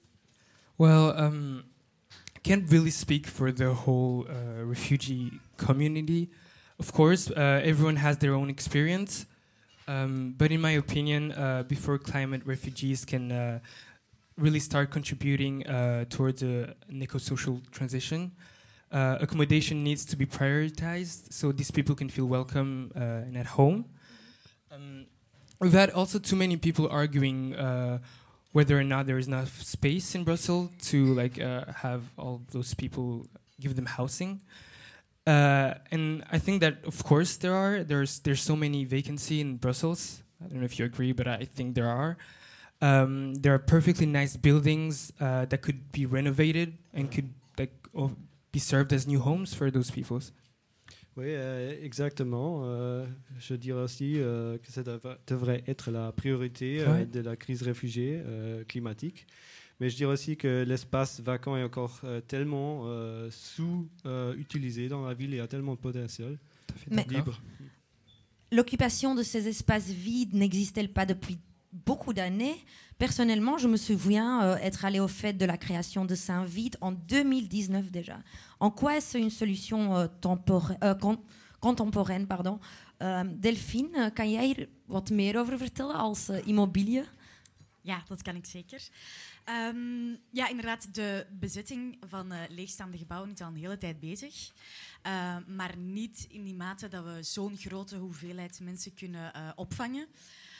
Speaker 15: Well, um, I can't really speak for the whole uh, refugee community. Of course, uh, everyone has their own experience. Um, but in my opinion, uh, before climate refugees can uh, really start contributing uh, towards a, an eco-social transition, uh, accommodation needs to be prioritized so these people can feel welcome uh, and at home. Um, we've had also too many people arguing uh, whether or not there is enough space in Brussels to like uh, have all those people, give them housing. Uh, and I think that, of course, there are. There's there's so many vacancy in Brussels. I don't know if you agree, but I think there are. Um, there are perfectly nice buildings uh, that could be renovated and could like oh, be served as new homes for those people.
Speaker 12: Oui, euh, exactement. Euh, je dirais aussi euh, que ça dev- devrait être la priorité euh,
Speaker 15: Ouais.
Speaker 12: de la crise réfugiée euh, climatique. Mais je dirais aussi que l'espace vacant est encore euh, tellement euh, sous-utilisé dans la ville, il y a tellement de potentiel
Speaker 9: Mais-
Speaker 12: libre.
Speaker 9: L'occupation de ces espaces vides n'existe-t-elle pas depuis beaucoup d'années? Personnellement, je me souviens euh, être allée au fait de la création de Saint-Vite en deux mille dix-neuf déjà. En quoi est-ce une solution euh, tempora- euh, con- contemporaine? Pardon. Uh, Delphine, kan jij er wat meer over vertellen als uh, immobiliën?
Speaker 14: Ja, dat kan ik zeker. Um, ja, inderdaad, de bezetting van uh, leegstaande gebouwen is al een hele tijd bezig. Uh, maar niet in die mate dat we zo'n grote hoeveelheid mensen kunnen uh, opvangen.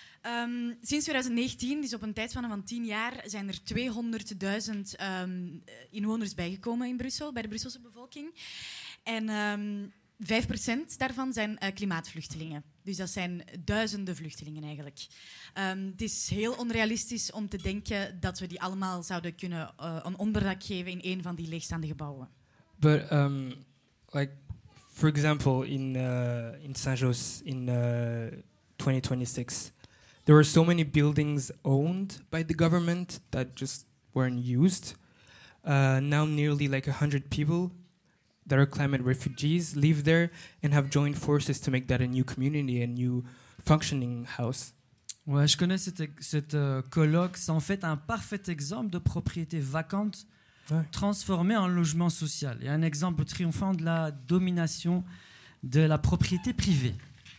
Speaker 14: Um, sinds twintig negentien, dus op een tijdspanne van tien jaar, zijn er tweehonderdduizend um, inwoners bijgekomen in Brussel, bij de Brusselse bevolking. En um, vijf procent daarvan zijn uh, klimaatvluchtelingen. Dus dat zijn duizenden vluchtelingen eigenlijk. Um, het is heel onrealistisch om te denken dat we die allemaal zouden kunnen uh, een onderdak geven in een van die leegstaande gebouwen.
Speaker 15: But um, like, for example, in uh, in Saint-Jos in uh, twenty twenty-six, there were so many buildings owned by the government that just weren't used. Uh, now nearly like a hundred people that are climate refugees live there and have joined forces to make that a new community, a new functioning house.
Speaker 1: Ouais, je connais cette, cette euh, colloque. C'est en fait un parfait exemple de propriété vacante ouais. transformée en logement social. Et un exemple triomphant de la domination de la propriété privée.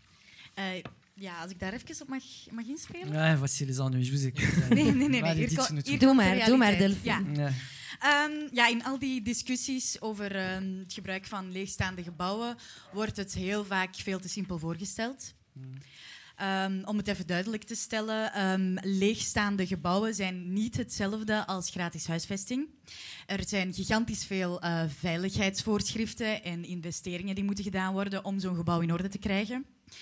Speaker 14: Uh, ja, als ik daar even op mag, mag inspelen.
Speaker 1: Ouais, voici les ennuis, je vous écoute.
Speaker 14: nee, nee, nee. nee.
Speaker 1: Allez,
Speaker 14: Hier ko-
Speaker 1: dites-nous
Speaker 14: hier
Speaker 1: tout.
Speaker 9: Doe
Speaker 14: komt de
Speaker 9: maar, doe maar,
Speaker 14: realiteit.
Speaker 9: Delphine.
Speaker 14: Ja.
Speaker 1: Ja.
Speaker 14: Um, ja, in al die discussies over um, het gebruik van leegstaande gebouwen wordt het heel vaak veel te simpel voorgesteld.
Speaker 1: Mm.
Speaker 14: Um, om het even duidelijk te stellen, um, leegstaande gebouwen zijn niet hetzelfde als gratis huisvesting. Er zijn gigantisch veel uh, veiligheidsvoorschriften en investeringen die moeten gedaan worden om zo'n gebouw in orde te krijgen.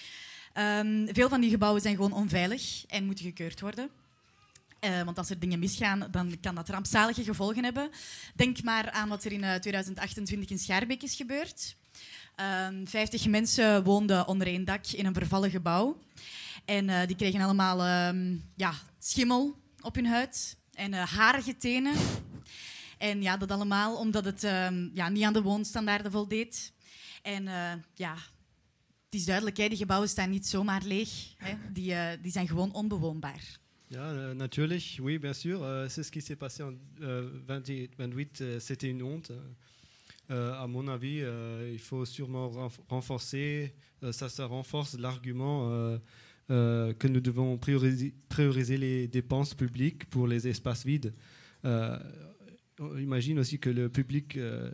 Speaker 14: Um, veel van die gebouwen zijn gewoon onveilig en moeten gekeurd worden. Uh, want als er dingen misgaan, dan kan dat rampzalige gevolgen hebben. Denk maar aan wat er in uh, tweeduizend achtentwintig in Schaarbeek is gebeurd. Um, vijftig mensen woonden onder één dak in een vervallen gebouw. En uh, die kregen allemaal um, ja, schimmel op hun huid en uh, harige tenen. En ja, dat allemaal omdat het um, ja, niet aan de woonstandaarden voldeed. En uh, ja, het is duidelijk, hè, die gebouwen staan niet zomaar leeg. Hè. Die, uh, die zijn gewoon onbewoonbaar.
Speaker 12: Ja, euh, natuurlijk, oui, bien sûr. Euh, c'est ce qui s'est passé en euh, vingt-huit, vingt-huit euh, c'était une honte. Euh, à mon avis, euh, il faut sûrement renf- renforcer, euh, ça, ça renforce l'argument euh, euh, que nous devons prioriser, prioriser les dépenses publiques pour les espaces vides. Euh, on imagine aussi que le public euh,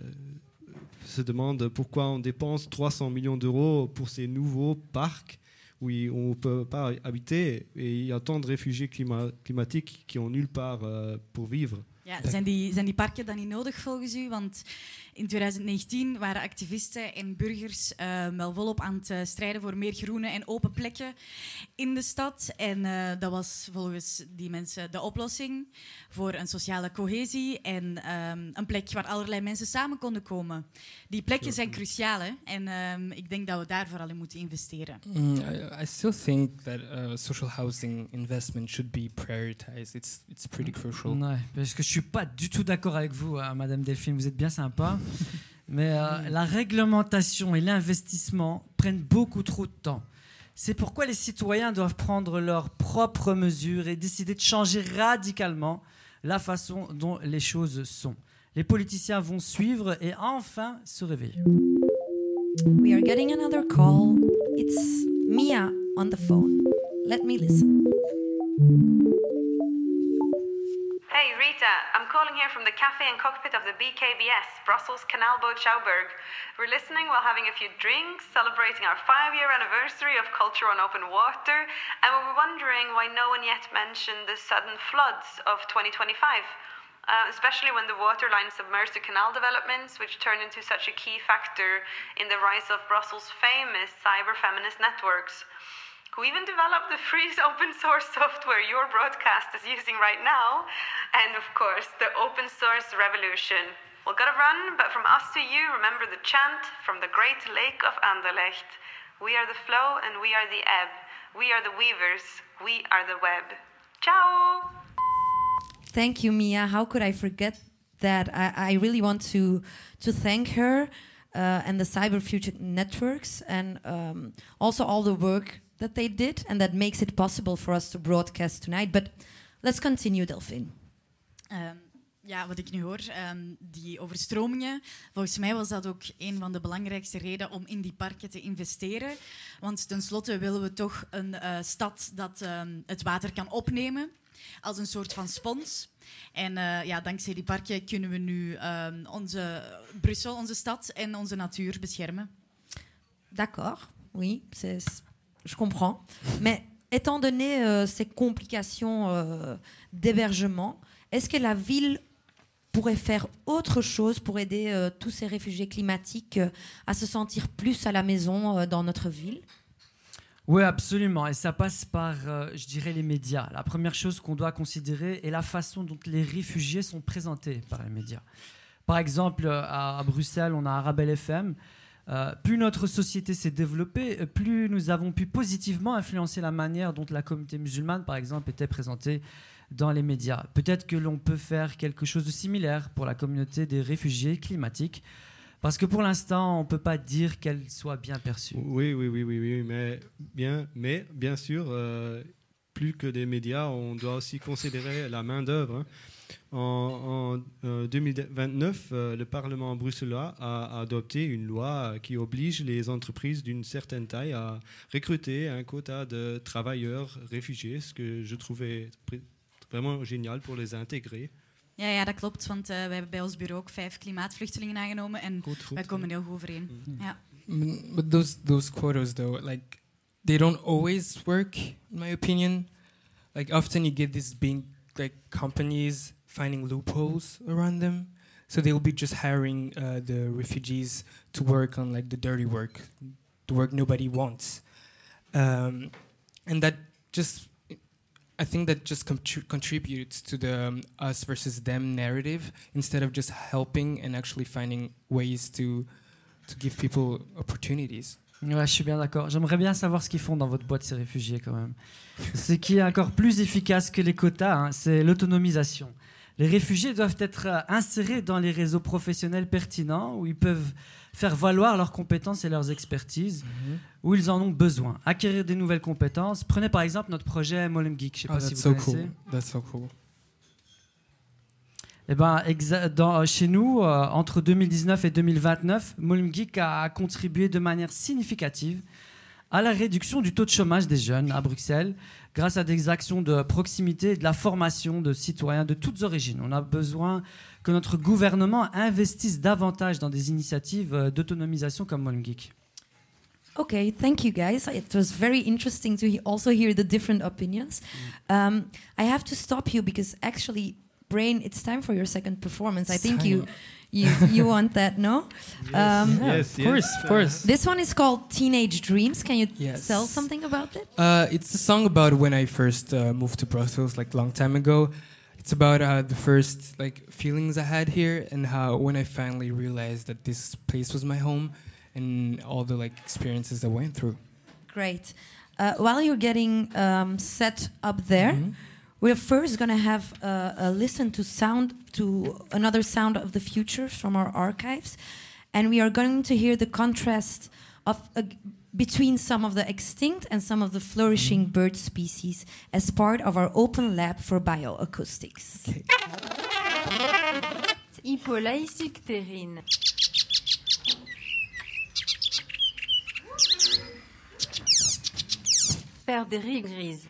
Speaker 12: se demande pourquoi on dépense trois cents millions d'euros pour ces nouveaux parcs où on ne peut pas habiter et il y a tant de réfugiés clima- climatiques qui ont nulle part euh, pour vivre.
Speaker 14: Ja, zijn die, zijn die parken dan niet nodig volgens u? Want in twintig negentien waren activisten en burgers uh, wel volop aan het uh, strijden voor meer groene en open plekken in de stad. En uh, dat was volgens die mensen de oplossing voor een sociale cohesie en um, een plek waar allerlei mensen samen konden komen. Die plekken zijn cruciaal, hè? En um, ik denk dat we daar vooral in moeten investeren.
Speaker 15: Mm, I, I still think that uh, social housing investment should be prioritized. It's it's pretty crucial.
Speaker 1: Ouais, parce que je suis pas du tout d'accord avec vous, hein, Madame Delphine. Vous êtes bien sympa, mais euh, la réglementation et l'investissement prennent beaucoup trop de temps. C'est pourquoi les citoyens doivent prendre leurs propres mesures et décider de changer radicalement la façon dont les choses sont. Les politiciens vont suivre et enfin se réveiller.
Speaker 9: We are getting another call. It's Mia on the phone. Let me listen.
Speaker 11: Hey Rita, I'm calling here from the cafe and cockpit of the B K B S, Brussels Canal Boat Schouwburg. We're listening while having a few drinks, celebrating our five-year anniversary of Culture on Open Water, and we were wondering why no one yet mentioned the sudden floods of twenty twenty-five, uh, especially when the water line submerged the canal developments, which turned into such a key factor in the rise of Brussels' famous cyber-feminist networks. Who even developed the free open source software your broadcast is using right now, and of course, the open source revolution. We'll gotta run, but from us to you, remember the chant from the great lake of Anderlecht. We are the flow and we are the ebb. We are the weavers, we are the web. Ciao!
Speaker 9: Thank you, Mia. How could I forget that? I, I really want to to thank her uh, and the Cyber Future Networks and um, also all the work that they did and that makes it possible for us to broadcast tonight. But let's continue, Delphine.
Speaker 14: Um, ja, wat ik nu hoor, um, die overstromingen, volgens mij was dat ook een van de belangrijkste redenen om in die parken te investeren. Want tenslotte willen we toch een uh, stad dat um, het water kan opnemen als een soort van spons. En uh, ja, dankzij die parken kunnen we nu um, onze Brussel, onze stad en onze natuur beschermen.
Speaker 9: D'accord, oui, c'est... Je comprends. Mais étant donné euh, ces complications euh, d'hébergement, est-ce que la ville pourrait faire autre chose pour aider euh, tous ces réfugiés climatiques euh, à se sentir plus à la maison euh, dans notre ville ?
Speaker 1: Oui, absolument. Et ça passe par, euh, je dirais, les médias. La première chose qu'on doit considérer est la façon dont les réfugiés sont présentés par les médias. Par exemple, à, à Bruxelles, on a Arabelle F M Euh, plus notre société s'est développée, plus nous avons pu positivement influencer la manière dont la communauté musulmane, par exemple, était présentée dans les médias. Peut-être que l'on peut faire quelque chose de similaire pour la communauté des réfugiés climatiques, parce que pour l'instant, on ne peut pas dire qu'elle soit bien perçue.
Speaker 12: Oui, oui, oui, oui, oui, mais bien, mais bien sûr, euh, plus que des médias, on doit aussi considérer la main-d'œuvre. Hein. En, en euh, deux mille vingt-neuf, euh, le Parlement bruxellois a adopté une loi qui oblige les entreprises d'une certaine taille à recruter un quota de travailleurs réfugiés, ce que je trouvais vraiment génial pour les intégrer.
Speaker 14: Ja, ja, dat klopt, want uh, wij hebben bij ons bureau ook vijf klimaatvluchtelingen aangenomen en
Speaker 12: goed, goed,
Speaker 14: wij komen
Speaker 12: ja.
Speaker 14: heel goed overeen. Mm. Ja.
Speaker 15: But those those quotas, though, like they don't always work, in my opinion. Like often you get these big like companies finding loopholes around them, so they'll be just hiring uh, the refugees to work on like the dirty work, the work nobody wants, um, and that just. I think that just contri- contributes to the um, us versus them narrative instead of just helping and actually finding ways to to give people opportunities.
Speaker 1: Ouais, je suis bien d'accord. J'aimerais bien savoir ce qu'ils font dans votre boîte, ces réfugiés, quand même. Ce qui est encore plus efficace que les quotas, hein, c'est l'autonomisation. Les réfugiés doivent être insérés dans les réseaux professionnels pertinents où ils peuvent faire valoir leurs compétences et leurs expertises, mm-hmm. où ils en ont besoin. Acquérir des nouvelles compétences. Prenez par exemple notre projet Molen Geek. Je ne sais
Speaker 15: oh,
Speaker 1: pas si vous
Speaker 15: so
Speaker 1: connaissez.
Speaker 15: Cool. That's so cool.
Speaker 1: Eh ben, exa- dans, chez nous, euh, entre deux mille dix-neuf et deux mille vingt-neuf, Molen Geek a contribué de manière significative à la réduction du taux de chômage des jeunes à Bruxelles, grâce à des actions de proximité et de la formation de citoyens de toutes origines. On a besoin que notre gouvernement investisse davantage dans des initiatives d'autonomisation comme Molen Geek.
Speaker 9: Okay, thank you guys. It was very interesting to he- also hear the different opinions. Um, I have to stop you because actually, Brain, it's time for your second performance. I think you, you, you want that, no?
Speaker 12: Yes,
Speaker 9: Um,
Speaker 12: yeah, yes,
Speaker 15: of course,
Speaker 12: yes.
Speaker 15: of course.
Speaker 9: This one is called Teenage Dreams. Can you
Speaker 15: Yes.
Speaker 9: tell something about it?
Speaker 15: Uh, it's a song about when I first uh, moved to Brussels, like a long time ago. It's about uh, the first like feelings I had here and how when I finally realized that this place was my home and all the like experiences I went through.
Speaker 9: Great. Uh, while you're getting um, set up there,
Speaker 15: Mm-hmm.
Speaker 9: we're first going to have uh, a listen to sound to another sound of the future from our archives, and we are going to hear the contrast of uh, between some of the extinct and some of the flourishing
Speaker 15: Mm-hmm.
Speaker 9: bird species as part of our open lab for bioacoustics.
Speaker 15: Okay.
Speaker 4: Hypolaïsictérine. Perdrix grise.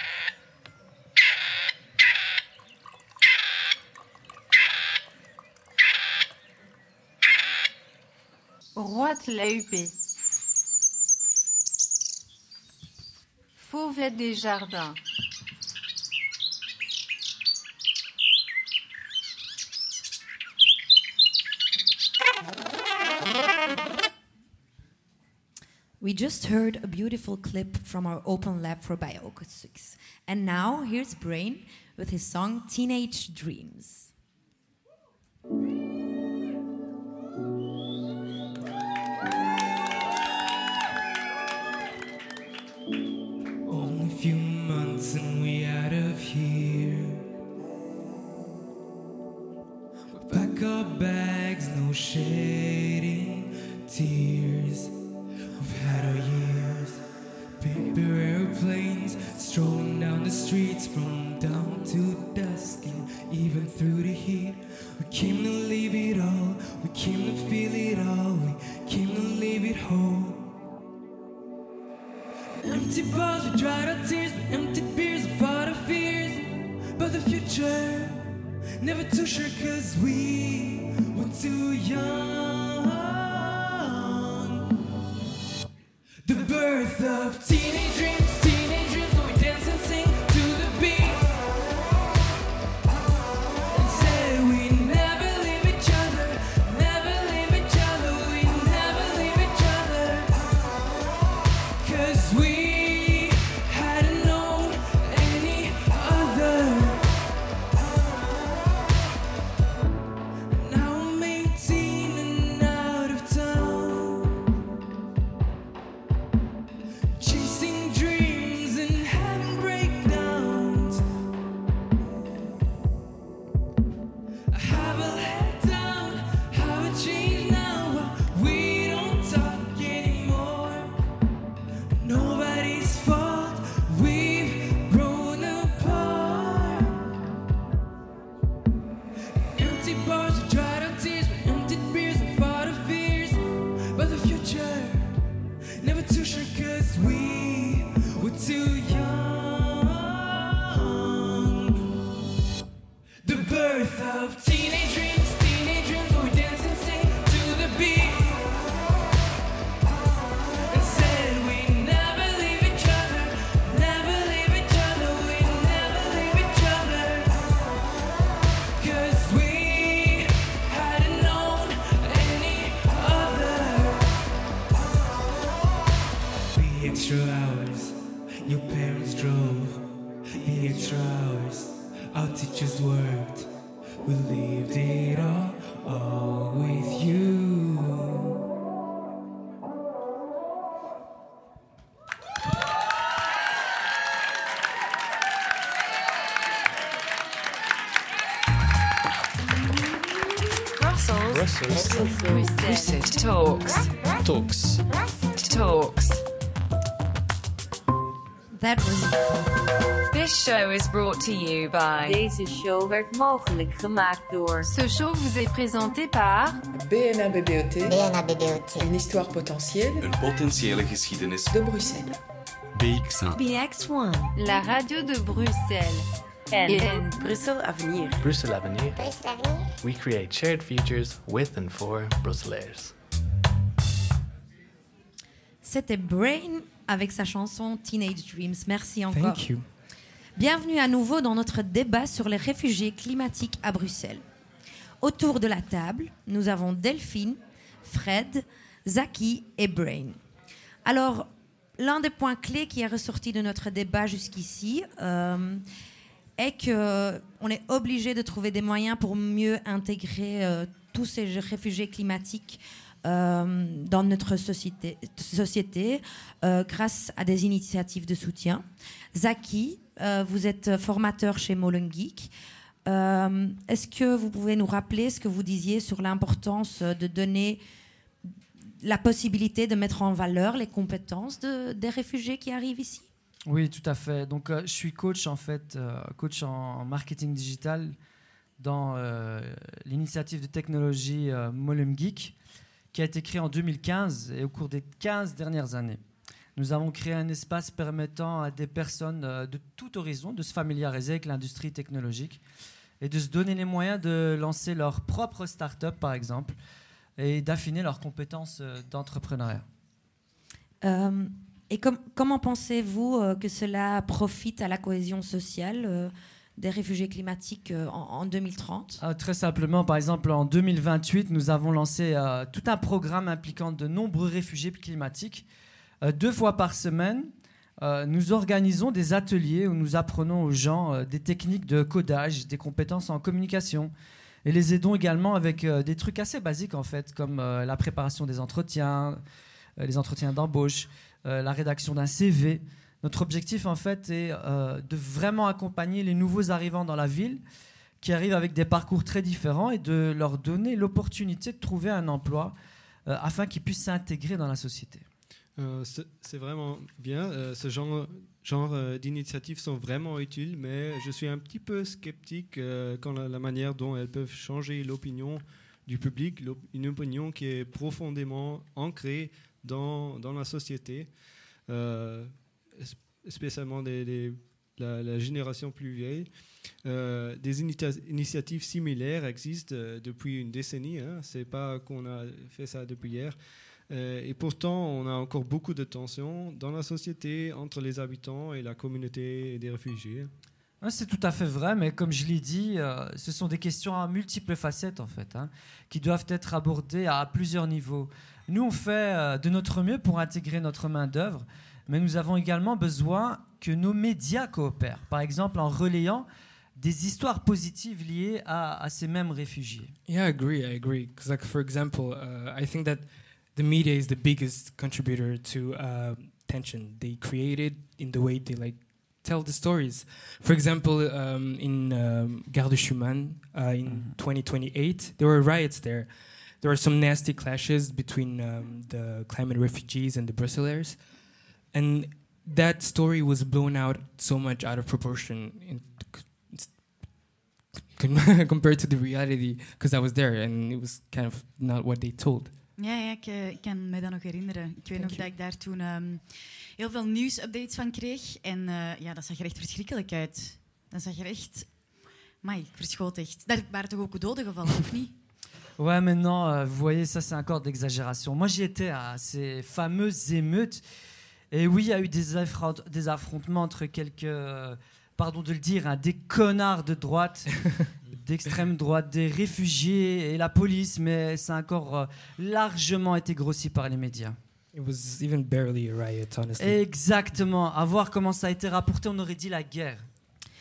Speaker 4: Roite la huppée. Fauvette des jardins.
Speaker 9: We just heard a beautiful clip from our open lab for bioacoustics. And now here's Brain with his song Teenage Dreams.
Speaker 27: Only a few months and we out of here. We pack our bags, no shedding tears. We've had our years, paper airplanes, strolling down the streets from dawn to dusk, and even through the heat. We came to leave it all, we came to feel it all, we came to leave it whole. Empty bars, we dried our tears, we emptied beers, we fought our fears. But the future, never too sure, cause we were too young. The birth of teenage dreams, teenage dreams, when we dance and sing to the beat. And say we never leave each other, never leave each other, we never leave each other. Cause we hadn't known any other. Now I'm eighteen and out of town.
Speaker 15: extra hours. Our teachers worked. We lived it all, all with you.
Speaker 2: Brussels.
Speaker 24: Brussels.
Speaker 2: Brussels talks.
Speaker 24: Talks.
Speaker 2: Talks.
Speaker 9: That was
Speaker 2: This show is brought to you by.
Speaker 4: Deze show werd mogelijk gemaakt door. Ce show vous est présenté par
Speaker 8: B N A B B O T. B N A B B O T. Une histoire potentielle.
Speaker 7: Een potentiële geschiedenis.
Speaker 8: De Bruxelles.
Speaker 24: B X un.
Speaker 4: B X one. La radio de Bruxelles. En
Speaker 3: Brussel Avenir.
Speaker 6: Brussel Avenir. We create shared futures with and for Brusselaars.
Speaker 9: C'était Brain avec sa chanson Teenage Dreams. Merci encore.
Speaker 15: Thank you.
Speaker 9: Bienvenue à nouveau dans notre débat sur les réfugiés climatiques à Bruxelles. Autour de la table, nous avons Delphine, Fred, Zaki et Brain. Alors, l'un des points clés qui est ressorti de notre débat jusqu'ici euh, est qu'on est obligé de trouver des moyens pour mieux intégrer euh, tous ces réfugiés climatiques euh, dans notre société, société euh, grâce à des initiatives de soutien. Zaki, euh, vous êtes formateur chez Molengeek. Euh, est-ce que vous pouvez nous rappeler ce que vous disiez sur l'importance de donner la possibilité de mettre en valeur les compétences de, des réfugiés qui arrivent ici?
Speaker 1: Oui, tout à fait. Donc, euh, je suis coach, en fait, euh, coach en marketing digital dans euh, l'initiative de technologie euh, Molengeek, qui a été créée en deux mille quinze et au cours des quinze dernières années. Nous avons créé un espace permettant à des personnes euh, de tout horizon de se familiariser avec l'industrie technologique et de se donner les moyens de lancer leur propre start-up, par exemple, et d'affiner leurs compétences euh, d'entrepreneuriat.
Speaker 9: Euh, et com- comment pensez-vous euh, que cela profite à la cohésion sociale euh, des réfugiés climatiques euh, en, en deux mille trente?
Speaker 1: Ah, très simplement, par exemple, en deux mille vingt-huit, nous avons lancé euh, tout un programme impliquant de nombreux réfugiés climatiques. Euh, deux fois par semaine, euh, nous organisons des ateliers où nous apprenons aux gens euh, des techniques de codage, des compétences en communication, et les aidons également avec euh, des trucs assez basiques, en fait, comme euh, la préparation des entretiens, euh, les entretiens d'embauche, euh, la rédaction d'un C V. Notre objectif, en fait, est euh, de vraiment accompagner les nouveaux arrivants dans la ville qui arrivent avec des parcours très différents et de leur donner l'opportunité de trouver un emploi euh, afin qu'ils puissent s'intégrer dans la société.
Speaker 12: Euh, c'est, c'est vraiment bien. Euh, ce genre, genre euh, d'initiatives sont vraiment utiles, mais je suis un petit peu sceptique euh, quant à la manière dont elles peuvent changer l'opinion du public, une opinion qui est profondément ancrée dans, dans la société, euh, spécialement des, des, la, la génération plus vieille. Euh, des inita- initiatives similaires existent euh, depuis une décennie. Hein. C'est pas qu'on a fait ça depuis hier. Euh, et pourtant, on a encore beaucoup de tensions dans la société entre les habitants et la communauté des réfugiés.
Speaker 1: C'est tout à fait vrai, mais comme je l'ai dit, euh, ce sont des questions à multiples facettes, en fait, hein, qui doivent être abordées à plusieurs niveaux. Nous, on fait euh, de notre mieux pour intégrer notre main-d'œuvre, mais nous avons également besoin que nos médias coopèrent, par exemple en relayant des histoires positives liées à, à ces mêmes réfugiés.
Speaker 15: Yeah, I agree, I agree. Because, like, for example, uh, I think that the media is the biggest contributor to uh, tension. They create it in the way they, like, tell the stories. For example, um, in um, Gare de Schumann uh, in mm-hmm. twenty twenty-eight, there were riots there. There were some nasty clashes between um, the climate refugees and the Brusselaars. And that story was blown out so much out of proportion in, compared to the reality, because I was there and it was kind of not what they told.
Speaker 14: Ja, ja ik, uh, ik kan me dat nog herinneren. Ik weet Thank nog you. dat ik daar toen um, heel veel nieuwsupdates van kreeg. En uh, ja, dat zag er echt verschrikkelijk uit. Dat zag er echt... Amai, ik verschoot echt. Daar waren toch ook doden gevallen, of niet?
Speaker 1: Ouais, maintenant, euh, vous voyez, ça c'est encore d'exagération. Moi, j'y étais à ces fameuses émeutes. Et oui, il y a eu des, affront- des affrontements entre quelques, euh, pardon de le dire, hein, des connards de droite, d'extrême droite, des réfugiés et la police, mais ça a encore euh, largement été grossi par les médias.
Speaker 15: It was even barely a riot, honestly.
Speaker 1: Exactement. À voir comment ça a été rapporté, on aurait dit la guerre.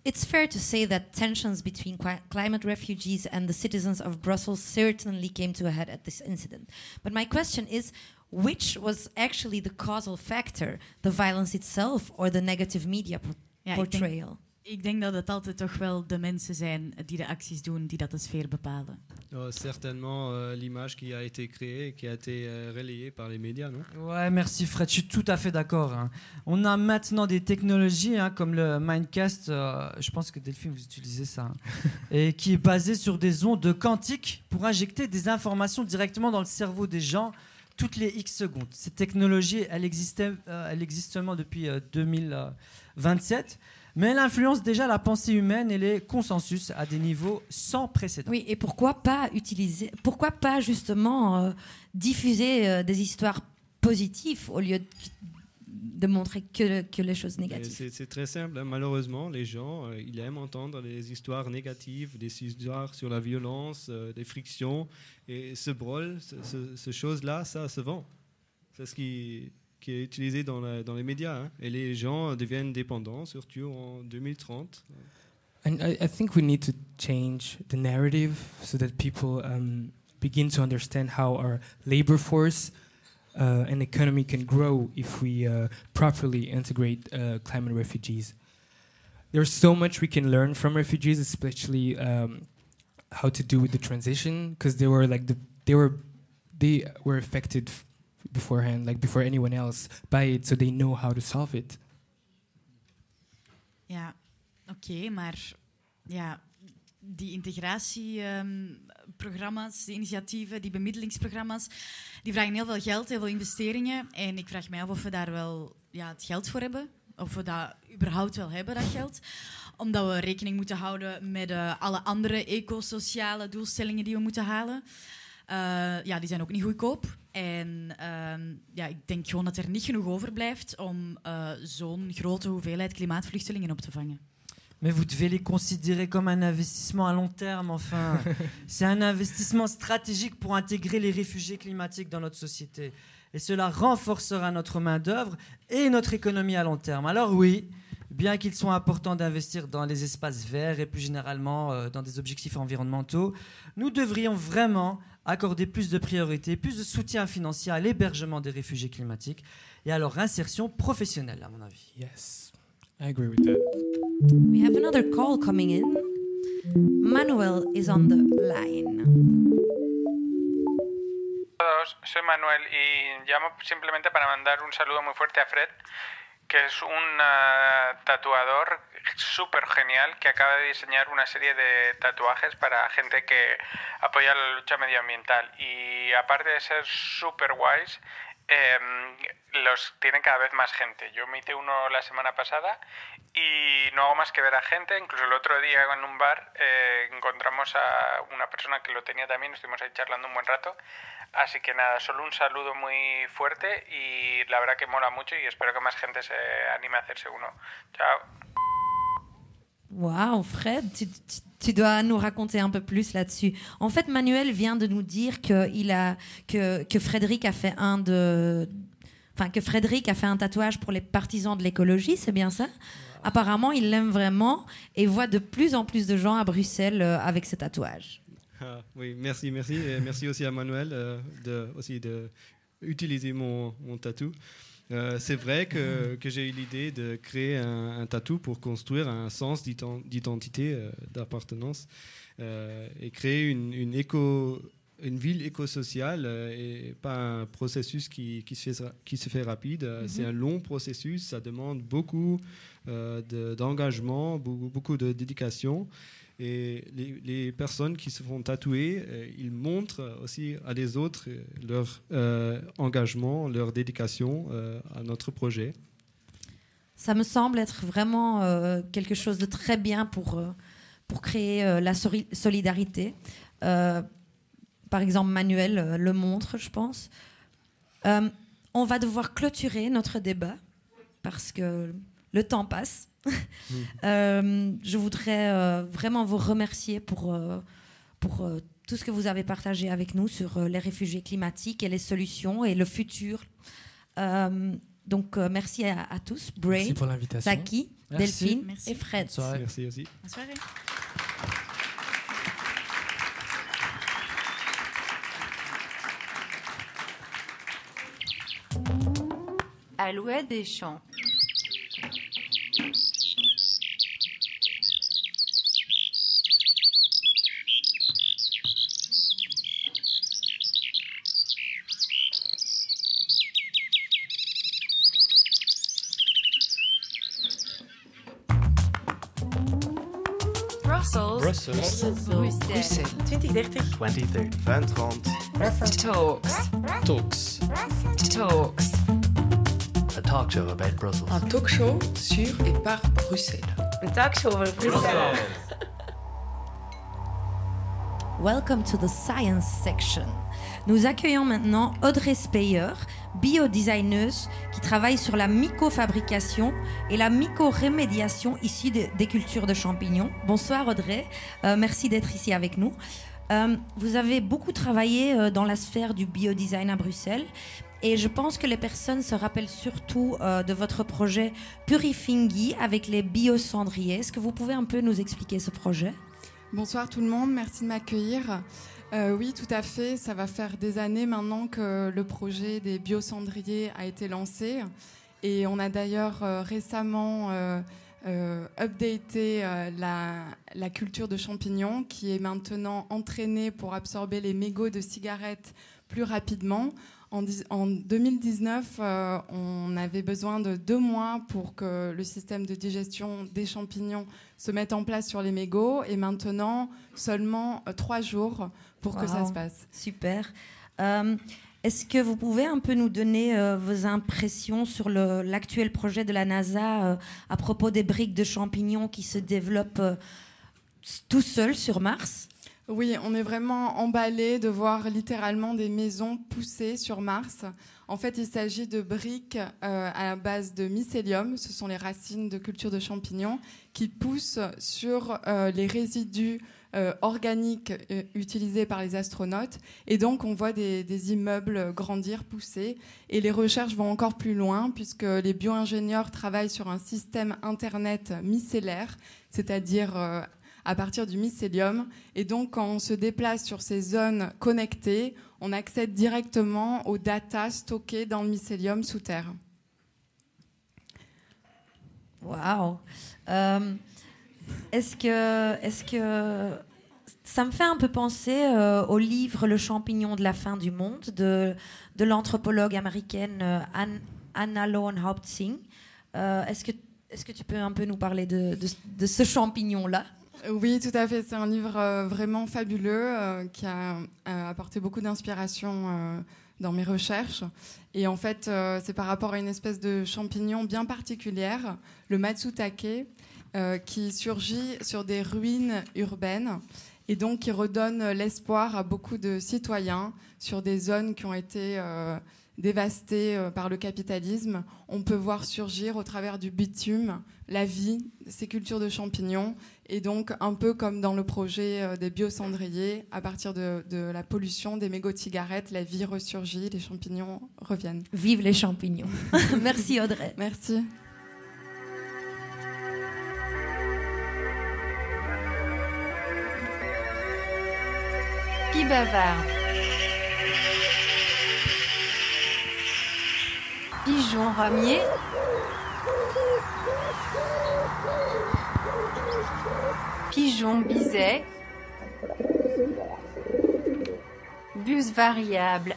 Speaker 9: It's fair to say that tensions between qui- climate refugees and the citizens of Brussels certainly came to a head at this incident. But my question is, which was actually the causal factor, the violence itself or the negative media po-
Speaker 14: Ja, ik
Speaker 9: portrayal?
Speaker 14: denk, ik denk dat het altijd toch wel de mensen zijn die de acties doen, die dat de sfeer bepalen.
Speaker 12: Oh, certainement euh, l'image qui a été créée, qui a été euh, relayée par les médias, non?
Speaker 1: Ouais, merci Fred, je suis tout à fait d'accord. hein. On a maintenant des technologies hein, comme le Mindcast, euh, je pense que Delphine vous utilisez ça, hein, et qui est basé sur des ondes quantiques pour injecter des informations directement dans le cerveau des gens toutes les X secondes. Cette technologie, elle, existait, euh, elle existe seulement depuis euh, deux mille vingt-sept, mais elle influence déjà la pensée humaine et les consensus à des niveaux sans précédent.
Speaker 9: Oui, et pourquoi pas utiliser, pourquoi pas justement euh, diffuser euh, des histoires positives au lieu de, de montrer que, que les choses
Speaker 12: Et
Speaker 9: négatives.
Speaker 12: C'est, c'est très simple, hein. Malheureusement, les gens, euh, ils aiment entendre des histoires négatives, des histoires sur la violence, euh, des frictions. Et ce brol, ce, ce, ce chose-là, ça se vend. C'est ce qui, qui est utilisé dans, la, dans les médias. Hein. Et les gens deviennent dépendants, surtout en deux mille trente.
Speaker 15: And I, I think we need to change the narrative so that people um, begin to understand how our labor force uh, and economy can grow if we uh, properly integrate uh, climate refugees. There's so much we can learn from refugees, especially um, how to do with the transition, because they were like the they were they were affected f- beforehand, like before anyone else, by it, so they know how to solve it.
Speaker 14: Ja, oké, okay, maar ja, die integratieprogramma's, um, die initiatieven, die bemiddelingsprogramma's, die vragen heel veel geld, heel veel investeringen. En ik vraag mij af of we daar wel ja, het geld voor hebben. Of we dat überhaupt wel hebben, dat geld. Omdat we rekening moeten houden met uh, alle andere ecosociale doelstellingen die we moeten halen. Uh, ja, die zijn ook niet goedkoop. En uh, ja, ik denk gewoon dat er niet genoeg overblijft om uh, zo'n grote hoeveelheid klimaatvluchtelingen op te vangen.
Speaker 1: Mais vous devez les considérer comme un investissement à long terme, enfin. C'est un investissement stratégique pour intégrer les réfugiés climatiques dans notre société. Et cela renforcera notre main-d'œuvre et notre économie à long terme. Alors oui, bien qu'il soit important d'investir dans les espaces verts et plus généralement euh, dans des objectifs environnementaux, nous devrions vraiment accorder plus de priorité, plus de soutien financier à l'hébergement des réfugiés climatiques et à leur insertion professionnelle, à mon avis.
Speaker 15: Yes, I agree with that.
Speaker 9: We have another call coming in. Manuel is on the line.
Speaker 7: Soy Manuel y llamo simplemente para mandar un saludo muy fuerte a Fred, que es un uh, tatuador súper genial que acaba de diseñar una serie de tatuajes para gente que apoya la lucha medioambiental. Y aparte de ser súper guays, eh, los tiene cada vez más gente. Yo me hice uno la semana pasada y no hago más que ver a gente. Incluso el otro día en un bar eh, encontramos a una persona que lo tenía también, estuvimos ahí charlando un buen rato. Así que nada, solo un saludo muy fuerte y la verdad que mola mucho y espero que más gente se anime a hacerse uno. Chao.
Speaker 9: Waouh, Fred, tu, tu, tu dois nous raconter un peu plus là-dessus. En fait, Manuel vient de nous dire que, il a, que, que Frédéric a fait un de... Enfin, que Frédéric a fait un tatouage pour les partisans de l'écologie, c'est bien ça? Apparemment, il l'aime vraiment et voit de plus en plus de gens à Bruxelles euh, avec ce tatouage.
Speaker 12: Ah, oui, merci, merci. Et merci aussi à Manuel euh, de, aussi de utiliser mon, mon tatou. Euh, c'est vrai que, que j'ai eu l'idée de créer un, un tatou pour construire un sens d'identité, euh, d'appartenance euh, et créer une, une, éco, une ville éco-sociale euh, et pas un processus qui, qui, se, fait, qui se fait rapide. Mm-hmm. C'est un long processus, ça demande beaucoup euh, de, d'engagement, beaucoup, beaucoup de dédication. Et les, les personnes qui se font tatouer, euh, ils montrent aussi à les autres euh, leur euh, engagement, leur dédication euh, à notre projet.
Speaker 9: Ça me semble être vraiment euh, quelque chose de très bien pour, euh, pour créer euh, la sori- solidarité. Euh, par exemple, Manuel euh, le montre, je pense. Euh, on va devoir clôturer notre débat parce que le temps passe. Mmh. euh, je voudrais euh, vraiment vous remercier pour, euh, pour euh, tout ce que vous avez partagé avec nous sur euh, les réfugiés climatiques et les solutions et le futur. Euh, Donc, euh, merci à, à tous. Braid,
Speaker 15: Merci pour l'invitation.
Speaker 9: Taki,
Speaker 1: Merci.
Speaker 9: Delphine
Speaker 14: Merci.
Speaker 9: et Fred.
Speaker 1: Bonne soirée.
Speaker 12: Merci aussi.
Speaker 14: Bonne soirée.
Speaker 4: Alouette des champs.
Speaker 2: Brussels.
Speaker 6: Brussels.
Speaker 2: Bruxelles.
Speaker 3: twintig dertig.
Speaker 6: twintig dertig. vingt trente.
Speaker 2: Talks.
Speaker 12: Talks.
Speaker 2: Talks.
Speaker 6: A talk show about Brussels.
Speaker 8: Un talk show sur et par Bruxelles.
Speaker 3: Een talkshow over Brussel.
Speaker 9: Welcome to the science section. Nous accueillons maintenant Audrey Speyer, biodesigneuse qui travaille sur la mycofabrication et la mycorémédiation issue de- des cultures de champignons. Bonsoir Audrey, Euh, merci d'être ici avec nous. Euh, vous avez beaucoup travaillé euh, dans la sphère du biodesign à Bruxelles et je pense que les personnes se rappellent surtout euh, de votre projet Purifingi avec les biocendriers. Est-ce que vous pouvez un peu nous expliquer ce projet ?
Speaker 10: Bonsoir tout le monde, merci de m'accueillir. Euh, oui, tout à fait, ça va faire des années maintenant que le projet des biocendriers a été lancé et on a d'ailleurs euh, récemment euh, euh, updaté euh, la, la culture de champignons qui est maintenant entraînée pour absorber les mégots de cigarettes plus rapidement. En, dix- en deux mille dix-neuf, euh, on avait besoin de deux mois pour que le système de digestion des champignons se mette en place sur les mégots et maintenant seulement euh, trois jours pour que ça
Speaker 9: Wow.
Speaker 10: se passe.
Speaker 9: Super. Euh, Est-ce que vous pouvez un peu nous donner euh, vos impressions sur le- l'actuel projet de la NASA euh, à propos des briques de champignons qui se développent euh, s- tout seuls sur Mars ?
Speaker 10: Oui, on est vraiment emballé de voir littéralement des maisons pousser sur Mars. En fait, il s'agit de briques euh, à base de mycélium, ce sont les racines de culture de champignons, qui poussent sur euh, les résidus euh, organiques euh, utilisés par les astronautes. Et donc, on voit des, des immeubles grandir, pousser. Et les recherches vont encore plus loin, puisque les bio-ingénieurs travaillent sur un système Internet mycellaire, c'est-à-dire euh, à partir du mycélium. Et donc, quand on se déplace sur ces zones connectées, on accède directement aux data stockées dans le mycélium sous terre.
Speaker 9: Waouh. Euh, Est-ce que, est-ce que ça me fait un peu penser euh, au livre Le champignon de la fin du monde de, de l'anthropologue américaine euh, Ann- Anna Lowenhaupt-Singh. Euh, est-ce que, est-ce que tu peux un peu nous parler de, de, de ce champignon-là ?
Speaker 10: Oui, tout à fait. C'est un livre euh, vraiment fabuleux euh, qui a euh, apporté beaucoup d'inspiration euh, dans mes recherches. Et en fait, euh, c'est par rapport à une espèce de champignon bien particulière, le matsutake, euh, qui surgit sur des ruines urbaines et donc qui redonne l'espoir à beaucoup de citoyens sur des zones qui ont été euh, dévastées euh, par le capitalisme. On peut voir surgir au travers du bitume la vie, ces cultures de champignons. Et donc, un peu comme dans le projet euh, des biocendriers, à partir de, de la pollution des mégots de cigarettes, la vie ressurgit, les champignons reviennent.
Speaker 9: Vive les champignons. Merci Audrey.
Speaker 10: Merci.
Speaker 4: Qui bavarde. Pigeon ramier. Pigeon biset. Bus variable.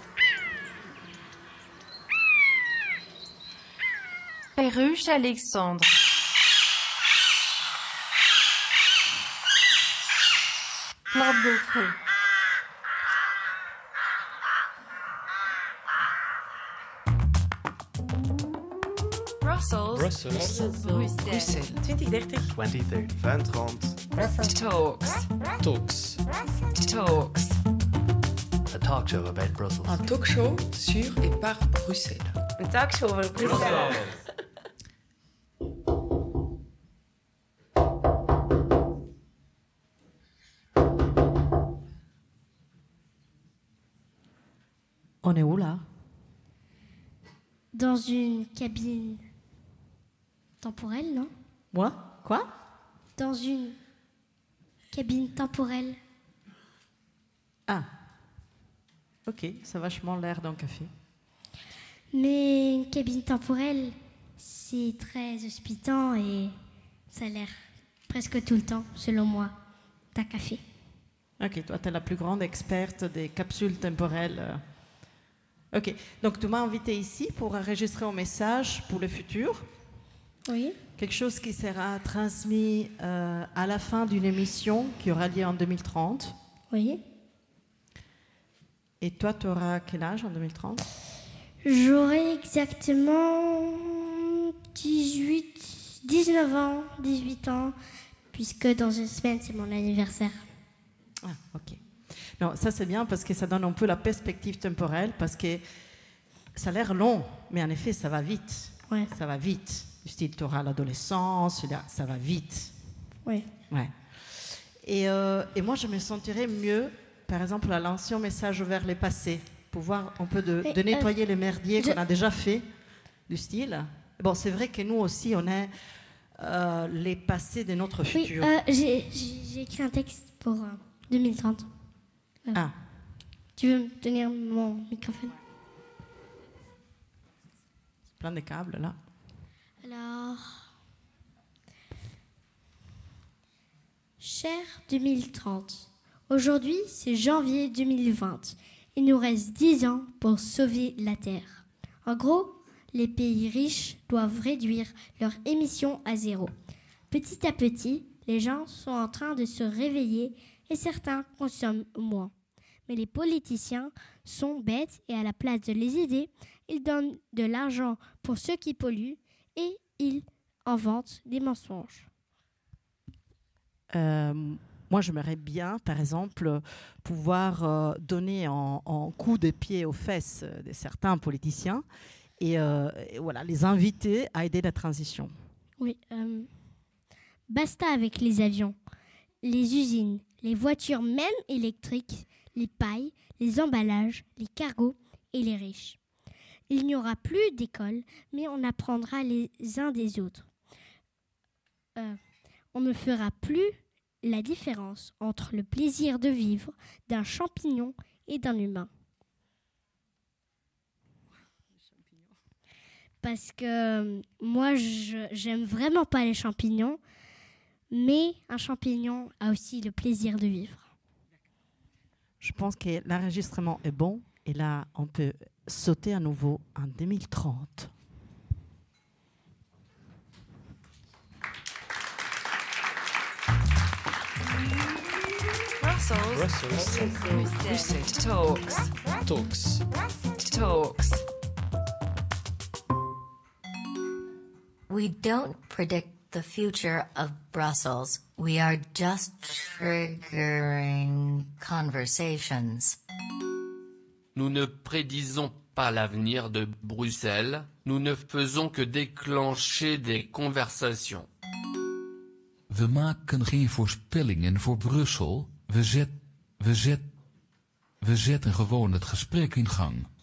Speaker 4: Perruche Alexandre. Plante de feu.
Speaker 2: Brussels.
Speaker 6: Brussels.
Speaker 2: Bruxelles.
Speaker 3: twintig dertig.
Speaker 6: twintig dertig. vingt trente.
Speaker 2: Talks.
Speaker 12: Talks.
Speaker 2: Talks.
Speaker 6: A talk show about Brussels.
Speaker 8: Un talk show sur et par Bruxelles.
Speaker 3: Een talkshow over Brussel.
Speaker 9: On est où là ?
Speaker 5: Dans une cabine temporelle, non?
Speaker 20: Moi? Quoi?
Speaker 5: Dans une cabine temporelle.
Speaker 20: Ah. Ok, ça a vachement l'air d'un café.
Speaker 5: Mais une cabine temporelle, c'est très hospitant et ça a l'air presque tout le temps, selon moi, d'un café.
Speaker 20: Ok, toi, tu es la plus grande experte des capsules temporelles. Ok, donc tu m'as invité ici pour enregistrer un message pour le futur.
Speaker 5: Oui.
Speaker 20: Quelque chose qui sera transmis euh, à la fin d'une émission qui aura lieu en deux mille trente.
Speaker 5: Oui.
Speaker 20: Et toi, tu auras quel âge en deux mille trente?
Speaker 5: J'aurai exactement dix-huit, dix-neuf ans, dix-huit ans, puisque dans une semaine, c'est mon anniversaire.
Speaker 20: Ah, ok. Non, ça c'est bien parce que ça donne un peu la perspective temporelle, parce que ça a l'air long, mais en effet, ça va vite.
Speaker 5: Ouais.
Speaker 20: Ça va vite. Du style, tu auras l'adolescence, ça va vite.
Speaker 5: Oui.
Speaker 20: Ouais. Et, euh, et moi, je me sentirais mieux, par exemple, à lancer un message vers les passés, pour voir un peu de,
Speaker 5: Mais,
Speaker 20: de nettoyer
Speaker 5: euh,
Speaker 20: les merdiers
Speaker 5: je...
Speaker 20: qu'on a déjà fait, du style. Bon, c'est vrai que nous aussi, on est euh, les passés de notre
Speaker 5: Oui,
Speaker 20: futur.
Speaker 5: euh, j'ai, j'ai, j'ai écrit un texte pour euh, deux mille trente. Euh,
Speaker 20: Ah.
Speaker 5: Tu veux me tenir mon microphone?
Speaker 20: Plein de câbles, là.
Speaker 5: Alors... Cher deux mille trente, aujourd'hui c'est janvier deux mille vingt. Il nous reste dix ans pour sauver la Terre. En gros, les pays riches doivent réduire leurs émissions à zéro. Petit à petit, les gens sont en train de se réveiller et certains consomment moins. Mais les politiciens sont bêtes et à la place de les aider, ils donnent de l'argent pour ceux qui polluent et ils inventent des mensonges.
Speaker 20: Euh, moi, j'aimerais bien, par exemple, pouvoir euh, donner en, en coup de pied aux fesses de certains politiciens et, euh, et voilà, les inviter à aider la transition.
Speaker 5: Oui, euh, basta avec les avions, les usines, les voitures même électriques, les pailles, les emballages, les cargos et les riches. Il n'y aura plus d'école, mais on apprendra les uns des autres. Euh, on ne fera plus la différence entre le plaisir de vivre d'un champignon et d'un humain. Parce que euh, moi, je, j'aime vraiment pas les champignons, mais un champignon a aussi le plaisir de vivre.
Speaker 20: Je pense que l'enregistrement est bon et là, on peut sauter à nouveau en deux mille trente.
Speaker 2: Brussels.
Speaker 24: Brussels.
Speaker 2: Brussels. Talks.
Speaker 24: Talks.
Speaker 2: Talks.
Speaker 21: We don't predict the future of Brussels. We are just triggering conversations.
Speaker 22: Nous ne prédisons pas l'avenir de Bruxelles, nous ne faisons que déclencher des conversations.
Speaker 24: We maken geen voorspellingen voor Brussel, we, zet, we, zet, we zetten gewoon het gesprek in gang.